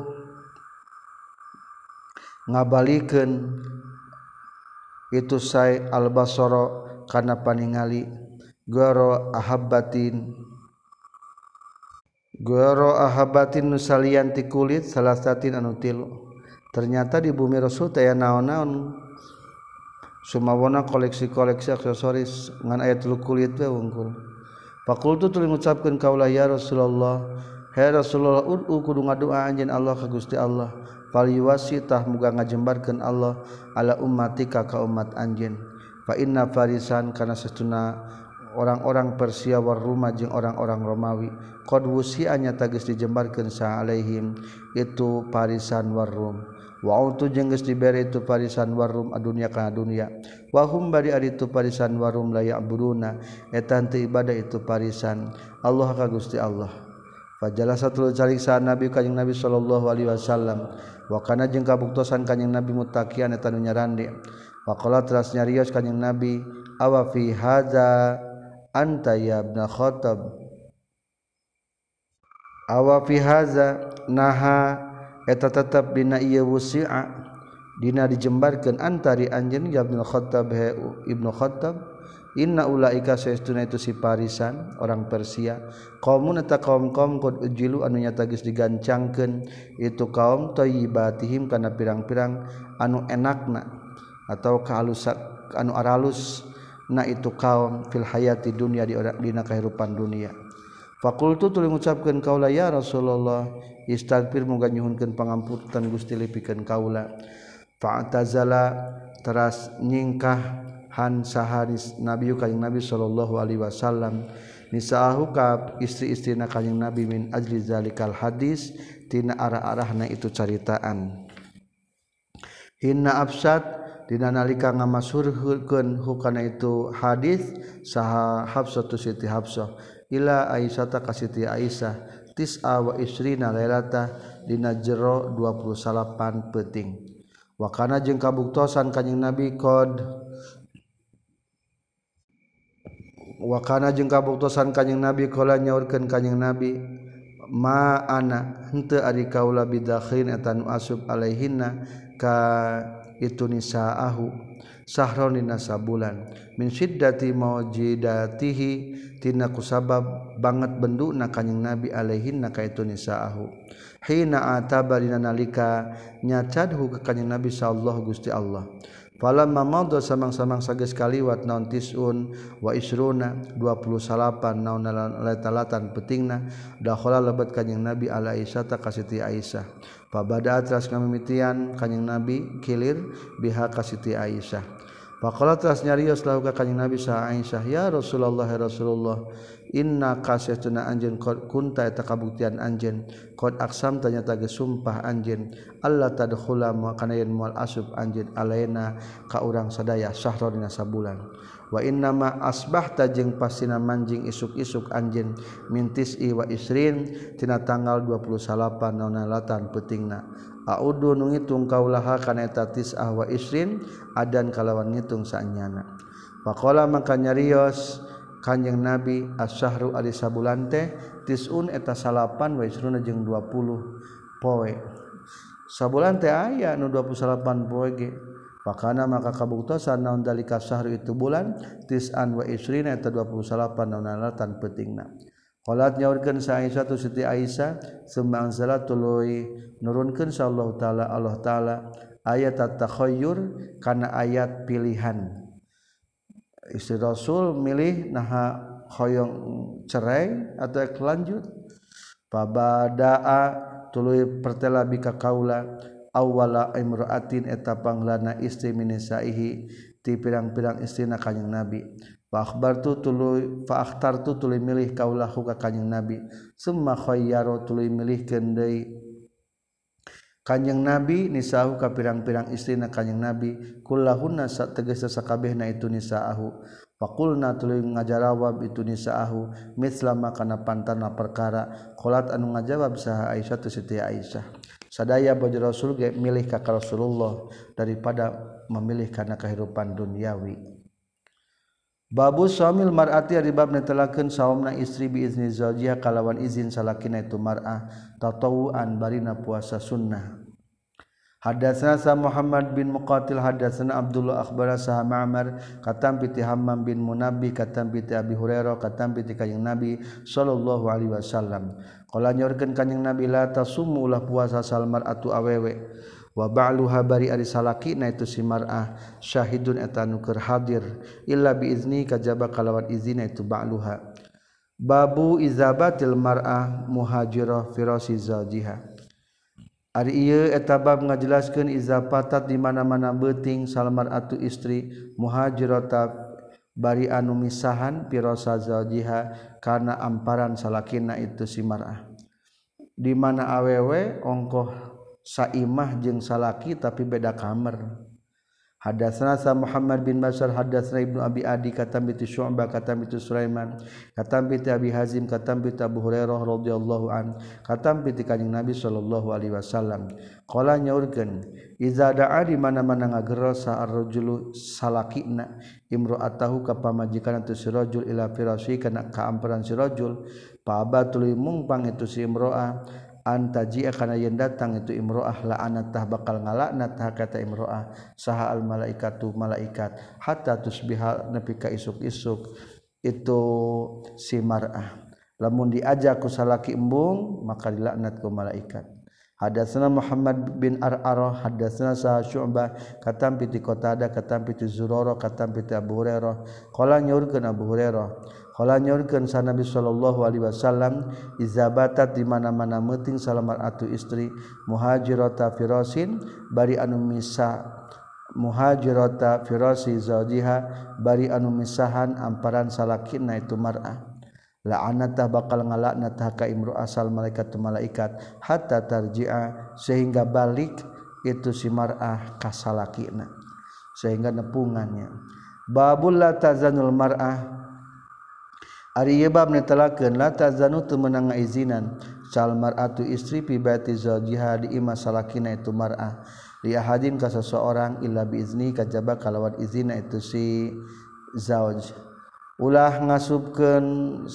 ngabalikeun itu sai al-basara kana paningali goro ahabbatin goro ahabbatin nusalian ti kulit salasatin anu tilu ternyata di bumi Rasul teh naon-naon sumawona koleksi-koleksi aksesoris ngan aya tilu kulit we wungkul faqultu tuluy ngucapkeun kaula ya Rasulullah he Rasulullah ud'u kudu ngadua anjeun Allah ka Gusti Allah fal yuwasitah muga ngajembarkeun Allah ala ummatika ka umat anjeun fa inna farisan kana satuna orang-orang Persia war Roma jeung orang-orang Romawi qad wusi'a nyata geus dijembarkeun sa alaihim itu parisan war Rum wa utu jeung geus dibere itu parisan war Rum adunya kana dunya wa hum bari ari itu parisan war Rum la ya'buduna eta teu ibadah itu parisan Allah ka Gusti Allah fajalasa tuluy calik sa nabi kanjing nabi sallallahu alaihi wasallam wa kana jeung kabuktosan kanjing nabi mutaqian eta nu nyarande faqala teras nyarios kanjing nabi awa fi hadza anta ya ibn khattab awa fi hadza naha eta tetep dina ieu wusi'a dina dijembarkeun antari anjeun ya ibn khattab he ibnu khattab inna ulaika saestuna itu si parisan orang Persia qaumun eta kaum-kaum qad ujilu anu nyata geus digancangkeun itu kaum thayyibatihim kana pirang-pirang anu enakna atau kehalus anu aralus na itu kaum fil hayati dunya di dina kahirupan dunia faqultu tuluy ngucapkeun kaula ya Rasulullah istaghfir muga nyuhunkeun pangampunan Gusti lipikeun kaula fa'tazala teras nyingkah han saharis nabi kanjing nabi sallallahu alaihi wasallam nisaahu ka istri-istrina kanjing nabi min ajli zalikal hadis tina arah-arahna itu caritaan hinna absat dina nalika ngamasurkeun hukana itu hadis saha Hafsah tu Siti Hafsah ila Aisyah ta ka Siti Aisyah tis'a wa isrina lailata dina jero dua puluh delapan peuting wa kana jeung kabuktosan kanjing Nabi qad wa kana jeung kabuktosan kanjing Nabi qala nyaurkeun kanjing Nabi ma ana henteu ari kaula bidakhrin eta nu asub alaihinna ka itu nisaahu sahron dina sabulan min syiddati maujidatihi tina kusabab banget benduna kanjing nabi alaihinna ka itu nisaahu hina ataba dina nalika nyacadhu ka kanjing nabi sallallahu Gusti Allah falamma madha samang-samang sageus kaliwat naon tisun wa isruna dua puluh delapan naon latalatan petingna dakhala lebat kanjing nabi ala Aisyah ta ka Siti Aisyah pabada atras ngamimitian kanjing nabi kilir biha ka Siti Aisyah faqala atras nyarios lahu ka kanjing nabi sa Aisyah ya Rasulullah ya Rasulullah inna kasatuna anjeun kunta eta kabuktian anjeun qad aqsam tanya tage sumpah anjeun Allah tadkhula ma kana yen moal asub anjeun alaina ka urang sadaya sahra dina sabulan wa inna ma asbahta jeung pasina manjing isuk-isuk anjeun mintis i wa isrin tina tanggal dua puluh delapan naon latan peutingna audu nu ngitung kaulaha kana eta tis'ah wa isrin adan kalawan ngitung saanyana faqala maka nyarios kanjing nabi as-syahru ari sabulan teh tisun eta salapan wa isruna jeung dua puluh poe sabulan teh aya nu dua puluh delapan poe ge pakana maka kabuktosan naon dalika syahru itu bulan tis'an wa isrina eta dua puluh delapan naon alatan peutingna qalat nyaurkeun sa Aisyah tu Siti Aisyah summa anzala tuluy nurunkeun sallallahu taala Allah taala ayat at-takhayyur kana ayat pilihan istri Rasul milih naha hoyong cerai atau lanjut pabadaa tuluy pertela bika kaula awwala imra'atin eta panglana istri minisaihi ti pirang-pirang istrina kanjing Nabi fa akhbartu tuluy fa akhtartu tuluy milih kaulahu ka kanjing Nabi summa khayyaru tuluy milihkeun deui kanjing Nabi nisahu ka pirang-pirang istrina kanjing Nabi kullahunna sategeus sakabehna itu nisaahu faqulna tuluy ngajawab itu nisaahu mislama kana pantana perkara qalat anu ngajawab saha Aisyah tu Siti Aisyah sadaya bojo Rasul ge milih ka Rasulullah daripada memilih kana kehidupan duniawi. Babu samil mar'ati ari bab netelakeun saumna istri bi izni zaujiha kalawan izin salakina itu mar'ah tatawuan barina puasa sunnah. Hadatsana sa Muhammad bin Muqatil hadatsana Abdullah akhbara sa Ma'mar katam bi Hammam bin Munabbi katam bi Abi Hurairah katam bi kanjing Nabi sallallahu alaihi wasallam qala nyorkeun kanjing Nabi la tasumu ulah puasa salmar atu awewe wa ba'luha bari ari salakina itu si mar'ah syahidun eta nu keur hadir illa bi izni kajaba kalawan izina itu ba'luha. Babu izabatil mar'ah muhajirah firasi zawjiha. Ari ieu eta bab ngajelaskeun izapatat di mana-mana beuting salmar atu istri muhajirata bari anu misahan firasa zawjiha kana amparan salakina itu si mar'ah. Di mana awewe ongkoh saimah jeung salaki tapi beda kamar. Hadatsana sa Muhammad bin Bashar hadatsana Ibnu Abi Adi katam bi Syu'bah katam bi Sulaiman katam bi Abi Hazim katam bi Abu Hurairah radhiyallahu an katam bi kanjing Nabi sallallahu alaihi wasallam qala nyaurkeun iza da'a di mana-mana ngagero sa ar-rajulu salakina imra'atahu ka pamajikan tu si rajul ila firasi kana ka amperan si rajul pa abatul mungpang itu si imra'ah antaji kana yen datang itu imro'ah la'anatah bakal ngalaknat kata imro'ah saha al malaikatu malaikat hatta tusbiha nepi ka isuk-isuk itu si mar'ah lamun diajak ku salaki embung maka dilaknat ku malaikat. Hadatsana Muhammad bin Ar'arah hadatsana sa Syu'bah katam piti Qatadah katam piti Zurarah katam piti Abu Hurairah qala nyaurkeun Abu Hurairah qala nyaurkeun sa Nabi sallallahu alaihi wasallam izabatat di mana-mana meuting salamar atu istri muhajirata firasin bari anu misah muhajirata firasi zawjiha bari anu misahan amparan salakina itu mar'ah la'anatah bakal ngalaknat ka imru asal malaikat tu malaikat hatta tarji'a sehingga balik itu si mar'ah ka salakina sehingga nepungannya. Babul la tazanul mar'ah ari ieu bab netelakeun la tazanu teu meunang ngaizinan sal mar'atu istri fi baiti zawjiha di imah salakina itu mar'ah li ahadin ka seseorang illa bi izni kajaba kalawan izina itu si zauj ulah ngasubkeun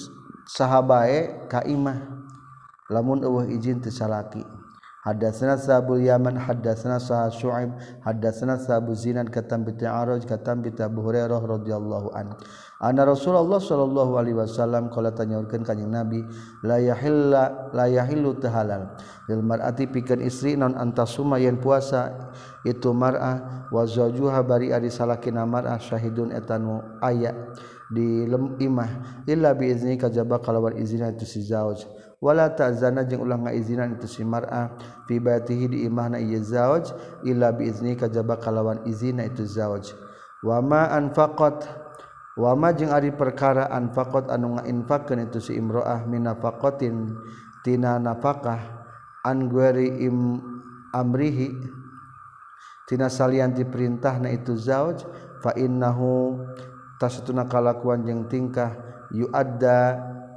sahabae ka imah lamun eueuh izin teu salaki. Hadatsana Sabul Yaman hadatsana Sa Syu'aib hadatsana Sabu Zinad katam bi Araj katam bi Abu Hurairah radhiyallahu an anna Rasulullah sallallahu alaihi wasallam qala tanyaurkeun kanjing Nabi la yahilla la yahillu tahalal lil mar'ati pikeun istri non antasuma yen puasa itu mar'ah wa zawjuha bari ari salakina mar'ah syahidun etanu aya di lem imah illa bi izni kajaba kalawan izina itu si zauj wala ta'zana jeung ulah ngaizinan itu si mar'ah fi baitihi di imahna ieu zauj illa bi izni kajaba kalawan izina itu zauj wa ma anfaqat wa ma jeung ari perkara anfaqat anu ngainfaqkeun itu si imro'ah min nafaqatin tina nafaqah an gueri im amrihi tina salian diperintahna itu zauj fa innahu tasatuna kalakuan jeung tingkah yuadda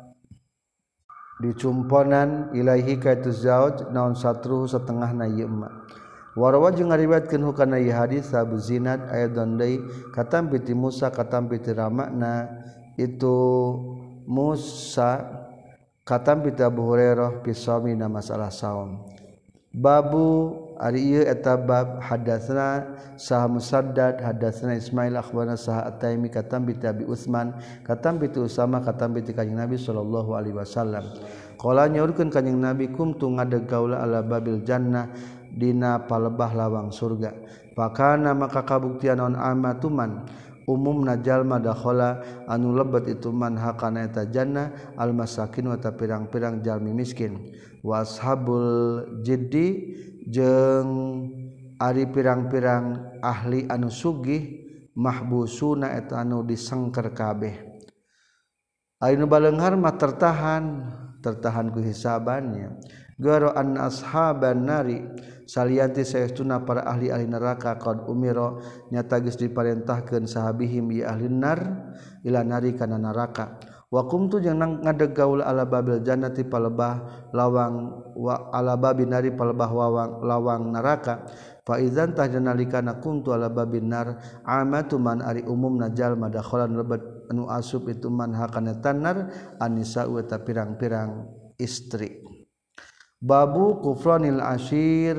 dicumponan ilaihi ka itu zauj naon satruh setengahna ieu emak warawa jeung ngariwayatkeun hukana ieu hadis Abu Zinad ayadan deui katam bi Musa katam bi ramakna itu Musa katam bi Abu Hurairah pisami na masalah saum. Babu ari ieu eta bab hadatsana Sah Musaddad hadatsana Ismail akhbarana Sah At-Taimi katam bi Abi Utsman katam bi Usama katam bi kanjing Nabi sallallahu alaihi wasallam qala nyaurkeun kanjing Nabi kumtu ngadeg kaula ala babil jannah dina palebah lawang surga fakana maka kabuktian naon amatuman umum najal madakhala anu lebat itu man hakana eta jannah al masakin wa pirang-pirang jalmi miskin wa ashabul jiddi jeung ari pirang-pirang ahli anu sugih mahbusuna eta anu disengker kabeh anu baleunghar mah tertahan tertahan ku hisabannya garo an ashaban nari salianti saestuna para ahli-ahli neraka qad umira nyata geus diparentahkeun sahabihim ya ahli nar ila nari kana neraka wa kumtu jeung ngadeg gaul ala babil jannati palebah lawang wa ala babin nari palebah wawang lawang neraka fa idzan tajnalikana kuntu ala babin nar amatu man ari umumna jalma dakhalan lebat anu asup itu man hakana tanar anisa wa ta pirang-pirang istri. Babu kufranil ashir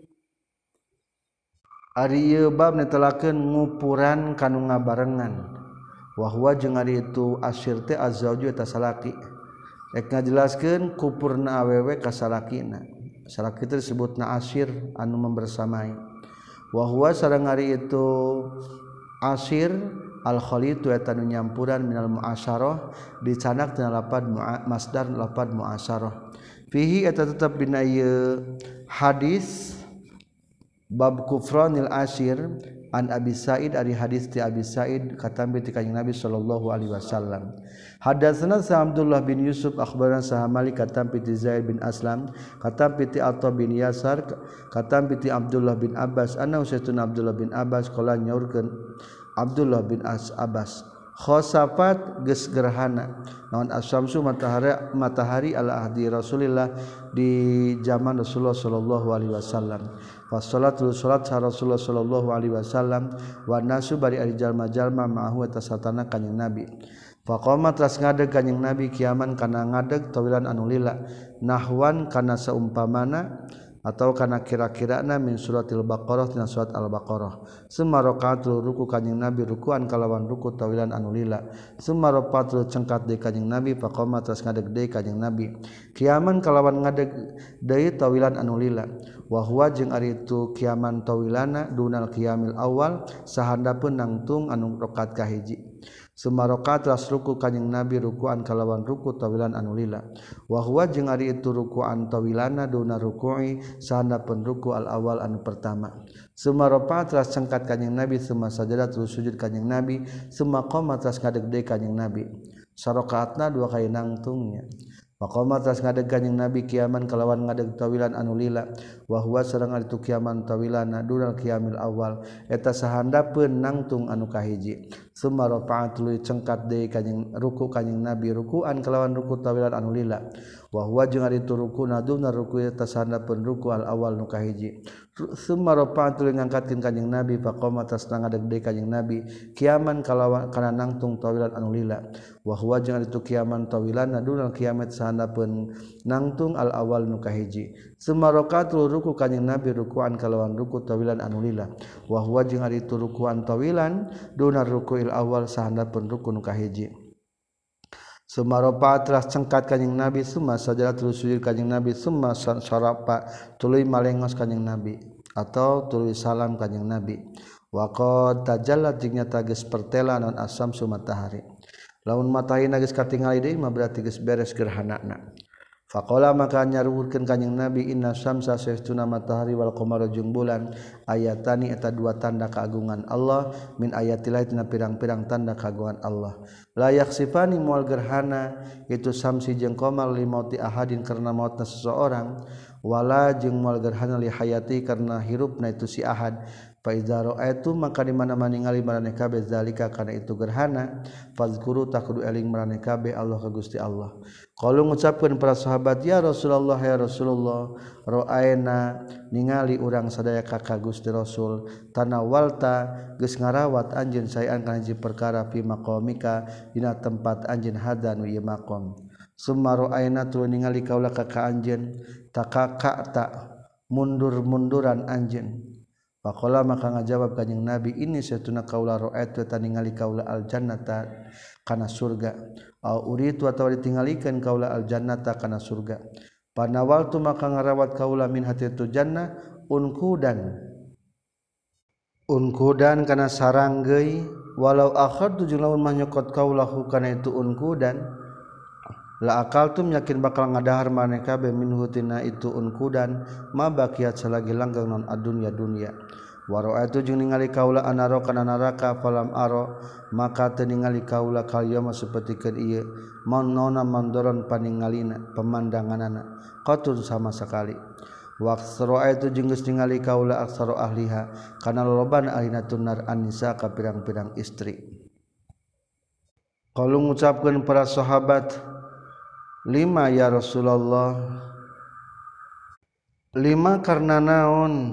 ari ieu bab netelakeun ngupuran kanu ngabarengan wa huwa jeung ari itu ashir teh azwaju eta salaki rek ngajelaskeun kupurna awewe ka salakina salaki teh disebutna ashir anu membersamai wa huwa sareng ari itu ashir al khalitu eta nu nyampuran minal muasyarah dicanak tina lapad masdar lapad muasyarah fihi eta tetap dina ieu hadis bab kufranil ashir an Abi Sa'id ari hadis ti Abi Sa'id katampi ti kanjeng Nabi sallallahu alaihi wasallam hadatsana sa Abdullah bin Yusuf akhbarana sa Malik katampi ti Zaid bin Aslam katampi ti Atha bin Yasar katampi ti Abdullah bin Abbas anna usaitun Abdullah bin Abbas qala nyaurkeun Abdullah bin As Abbas khosafat geus gerhana naon asyamsu matahari matahari ala ahdi Rasulillah di zaman Rasulullah sallallahu alaihi wasallam fa salatul salat Rasulullah sallallahu alaihi wasallam wa nasu bari ari jalma-jalma ma'ahu eta satana kanjing Nabi fa qama teras ngadeg kanjing Nabi kiaman kana ngadeg tawilan anu lila nahwan kana saumpamana atau kana kira-kirana min suratil baqarah tina surat al-baqarah summa raqatul ruku kanjing Nabi rukuan kalawan ruku tawilan anu lila summa rapatul cengkat deui kanjing Nabi faqama tas ngadeg deui kanjing Nabi kiaman kalawan ngadeg deui tawilan anu lila wa huwa jeung ari itu kiaman tawilana dunal qiyamil awal sahandapeun nangtung anu rakaat kahiji summa raqat ras ruku kanjing Nabi rukuan kalawan ruku tawilan anu lila wa huwa jeung ari itu rukuan tawilana duna ruku'i sahandapeun ruku al awal anu pertama summa raqat ras cengkat kanjing Nabi summa sajadat terus sujud kanjing Nabi summa qama ras ngadeg deui kanjing Nabi sarakaatna dua kali nangtungnya maqama tas ngadeg kanjing Nabi kiaman kalawan ngadeg tawilan anu lila wa huwa sareng ari tu kiaman tawilana dunal qiyamil awal eta sahandapeun nangtung anu kahiji summa rafa'at tuluy cengkat deui kanjing ruku kanjing Nabi rukuan kalawan ruku tawilan anu lila wa huwa jeung ari tu ruku naduna ruku eta sahandapeun ruku al awal nu kahiji summa rafa'at tuluy ngangkatkeun kanjing Nabi faqama tas ngadeg deui kanjing Nabi kiaman kalawan kana nangtung tawilan anu lila wa huwa jeung ari tu kiaman tawilana dunal qiyamat sahandapeun nangtung al awal nu kahiji summa raqatul ruku kanjing Nabi rukuan kalawan ruku tawilan anu lila wa huwa jeung ari tu rukuan tawilan dunar rukuil awal sahandapeun ruku nu kahiji summa rafa teras cengkat kanjing Nabi summa sajadah terus sujud kanjing Nabi summa sarapa tuluy malengos kanjing Nabi atau tuluy salam kanjing Nabi wa qad tajallat jeung nyata geus pertela naon asamsu matahari lamun matahari geus katingali deui mah berarti geus beres gerhanana faqala maka nyaruwurkeun kanjing Nabi inna syamsa saestuna matahari wal qamara jeung bulan ayatani eta dua tanda keagungan Allah min ayatillah tina pirang-pirang tanda keagungan Allah la yaksifani moal gerhana itu samsi jeung qamar li mauti ahadin karena mautna seseorang wala jeung moal gerhana li hayati karena hirupna itu si ahad fa idza ra'aitu maka di mana-mana ningali maraneh kabeh zalika kana itu gerhana fazkuru takudu eling maraneh kabeh Allah ka Gusti Allah qalu ngucapkeun para sahabat ya Rasulullah ya Rasulullah ra'aina ningali urang sadaya ka Gusti Rasul tanawalta geus ngarawat anjeun saean kana hiji perkara fi maqamika dina tempat anjeun hadan ieu maqam summa ra'aina tu ningali kaula ka anjeun takaka mundur-munduran anjeun faqala maka ngajawab kanjing Nabi ini satuna kaula ra'aitu taningali kaula al jannata kana surga au uritu atawa ditingalikeun kaula al jannata kana surga panawaltu maka ngarawat kaula min hati tu jannah unkudan unkudan kana sarang geui walau akhadtu jeung lamun mah nyokot kaulahu kana itu unkudan la akaltum yakin bakal ngadahar maneh kabeh minhu tina itu unkudan ma baqiat salagi langgeng non adunya dunya waro atu jeung ningali kaula anaro kana neraka falam aro maka teu ningali kaula kalyama sapertikeun ieu manona mandoron paningalina pemandanganana qatun sama sekali waqsaro atu jeung geus ningali kaula aksaro ahliha kana lolobana ahlina tunar anisa ka pirang-pirang istri qalu ngucapkeun para sahabat lima ya Rasulullah lima karena naon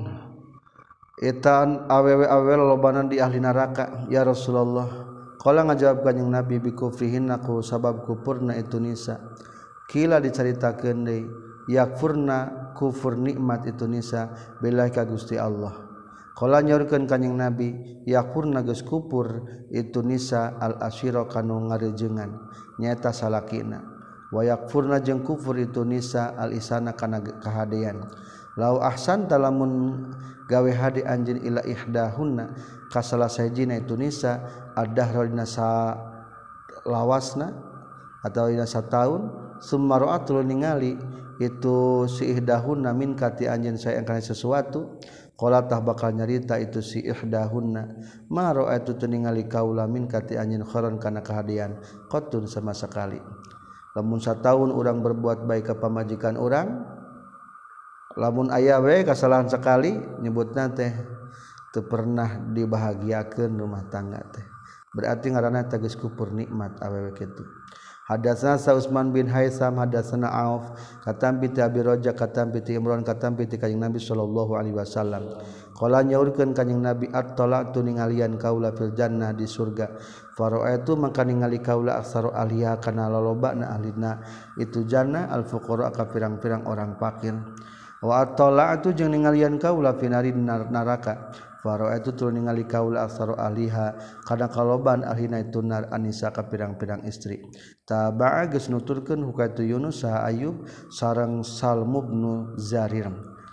etan awewe-awewe lolobanan di ahli neraka ya Rasulullah qala ngajawab kanjing Nabi bi kufrihinna ku sabab kufurna itu nisa kila dicaritakeun deui yakfurna kufur nikmat itu nisa billahi ka Gusti Allah qala nyorkeun kanjing Nabi yakfurna geus kufur itu nisa al asyira kanu ngarejengan nyaeta salakina wa yakfurna jeung kufur itu nisa al isana kana kahadean lau ahsan talamun gawe hadi anjeun ila ihdahunna ka salah sahijina itu nisa ad-dahra dina sa lawasna atau dina sataun summa ra'atul ningali itu si ihdahunna min kati anjeun sae kana sesuatu qala tah bakal nyarita itu si ihdahunna ma ra'atu ningali kaula min kati anjeun kharon kana kahadian qatun sama sekali lamun sataun urang berbuat baik ka pamajikan urang lamun aya we kasalahan sekali nyebutna teh teu pernah dibahagiakeun rumah tangga teh berarti ngaranna teh geus kufur nikmat awewe kitu hadatsana Sa Utsman bin Haitsam hadatsana Auf katam bi Abi Raja katam bi Imran katam bi kanjing Nabi sallallahu alaihi wasallam qala nyaurkeun kanjing Nabi at-talaqtu ningalian kaula fil jannah di surga faraaitu maka ningali kaula aksaru ahliha kana lolobana ahlina itu jannah al fuqara ka pirang-pirang orang fakir wa at-talaqtu jeung ningalian kaula finari neraka faraaitu tur ningali kaula aksaru ahliha kana kaloban ahlina itu nar anisa ka pirang-pirang istri taba'a geus nuturkeun hukatu Yunus saha Ayub sareng Salmu bin Zarir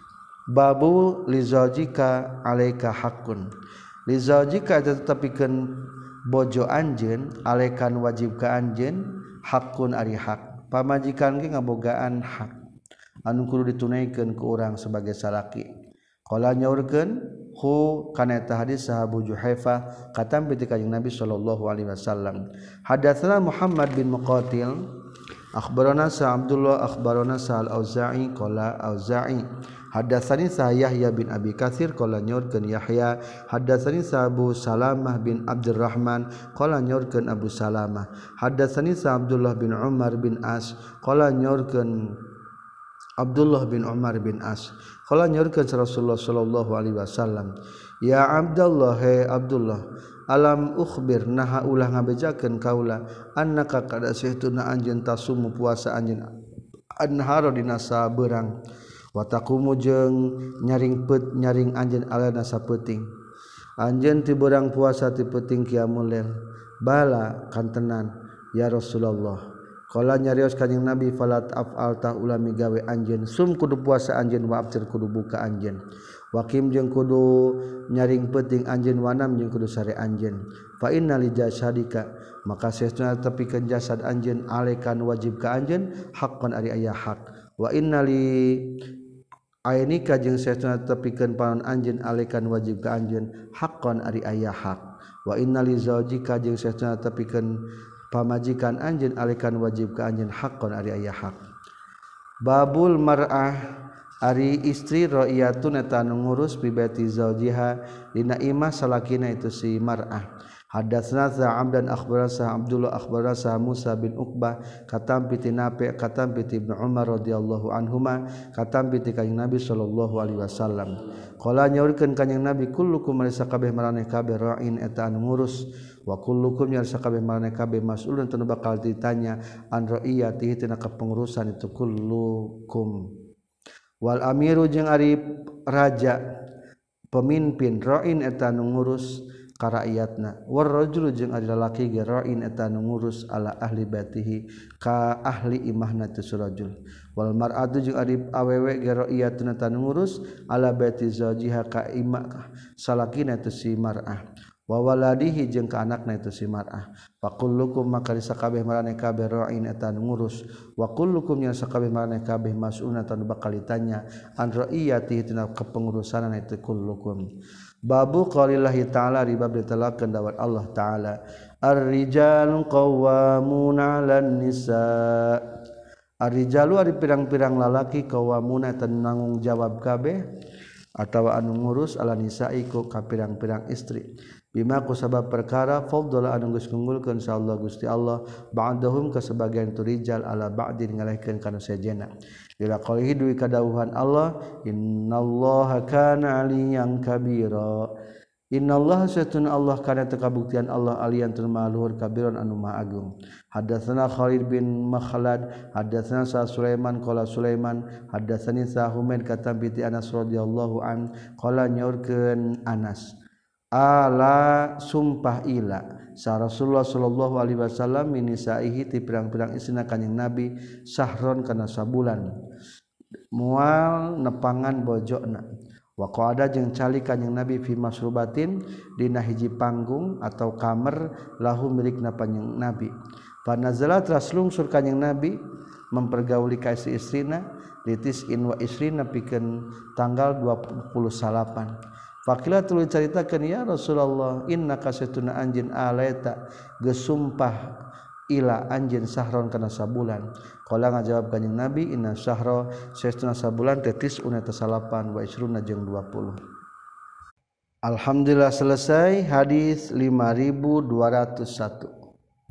babu lizajika alaika haqqun lizajika tetepikeun bojo anjeun alekan wajib ka anjeun haqqun ari hak pamajikan ge ngabogaan hak anu kudu ditunaikeun ku urang sebagai salaki qala nyaurkeun hu kana eta hadis sahabu Juhaifa katam bi kanjing Nabi sallallahu alaihi wasallam hadatsana Muhammad bin Muqatil akhbarana sa Abdullah akhbarana sa al-Auza'i qala Auza'i hadatsani sa Yahya bin Abi Katsir qala nyorkeun Yahya hadatsani sa Abu Salamah bin Abdurrahman qala nyorkeun Abu Salamah hadatsani sa Abdullah bin Umar bin As qala nyorkeun Abdullah bin Umar bin As qala nyorkeun Rasulullah sallallahu alaihi wasallam ya Abdullah he Abdullah alam ukhbir naha ulah ngabejakeun kaula annaka kada sahtuna anjeun tasumu puasa anjeun anharo dina sabeurang wa taqumu jeung nyaring pet nyaring anjeun alana sapeuting anjeun ti beurang puasa ti peuting qiyamul lail bala kantenan ya Rasulullah qala nyarios kanjing Nabi falat af'al ta ulami gawe anjeun sum kudu puasa anjeun wa aftir kudu buka anjeun waqim jeung kudu nyaring peuting anjeun wanam jeung kudu sare anjeun fa inna li jasadika maka sesuna tepikeun jasad anjeun alekan wajib ka anjeun haqqan ari aya hak wa inna li ainika jeung sesuna tepikeun panon anjeun alekan wajib ka anjeun haqqan ari aya hak wa inna li zaujika jeung sesuna tepikeun pamajikan anjeun alekan wajib ka anjeun haqqan ari aya hak babul mar'ah ari istri ra'iyatun eta anu ngurus bi baiti zaujiha dina imah salakina itu si mar'ah hadatsna sa Abdan akhbarana sa Abdullah akhbarana sa Musa bin Uqbah katam bi Nafi' katam bi Ibnu Umar radhiyallahu anhuma katam bi kanjing Nabi sallallahu alaihi wasallam qala nyaurkeun kanjing Nabi kullukum marisa kabeh maraneh kabeh ra'in eta anu ngurus wa kullukum yarsa kabeh maraneh kabeh mas'ulun tanu bakal ditanya an ra'iyatihi tina kepengurusan itu kullukum wal amiru jeung ari raja pemimpin ra'in eta anu ngurus karaiyatna warrajulu jeung ari lalaki ge ra'in eta nu ngurus ala ahli baitihi ka ahli imahna tu surajul wal mar'atu jeung ari awewe ge ra'iyatun eta nu ngurus ala baiti zawjiha ka imah salakina tu si mar'ah wa waladihi jeung ka anakna itu si mar'ah fa kullukum maka sakabeh marane kabeh ra'in eta nu ngurus wa kullukum nya sakabeh marane kabeh mas'ulun eta nu bakal ditanya an ra'iyatihi tina kepengurusan itu kullukum babu qaulillahi ta'ala ribab ditelakeun dawat Allah ta'ala ar-rijalu qawwamuna 'alan nisa ar-rijalu ari pirang-pirang lalaki qawwamuna eta nanggung jawab kabeh atawa anu ngurus ala nisa'i ku ka pirang-pirang istri bima ku sabab perkara fadhala anu geus ngunggulkeun insyaallah Gusti Allah ba'dahum ka sebagian tu rijal ala ba'din ngalehkeun kana sejena ila qalihi duwi kadawuhan Allah innallaha kana 'aliyan kabira innallaha satun Allah kana teu kabuktian Allah aliyan tur maluhur kabiron anu maha agung hadatsana Khalid bin Makhlad hadatsana Sa Sulaiman qala Sulaiman hadatsani Sa Humaid kata binti Anas radhiyallahu an qala nyaurkeun Anas ala sumpah ila sa Rasulullah sallallahu alaihi wasallam min nisaihi ti pirang-pirang istrina kanjing Nabi sahron kana sabulan mual nepangan bojona wa qada jeung cali kanjing Nabi fi masrubatin dina hiji panggung atau kamar lahu milikna kanjing Nabi fa nazala traslungsur kanjing Nabi mempergauli ka istri-istrina litis in wa isrina pikeun tanggal dua puluh delapan Fakila tuluy caritakeun ya Rasulullah innaka satuna anjeun alaita gesumpah ila anjeun sahron kana sabulan qala ngajawab kanjing Nabi inna syahra satuna sabulan tetis una tasalapan wa isruna jeung dua puluh Alhamdulillah selesai hadis lima ribu dua ratus satu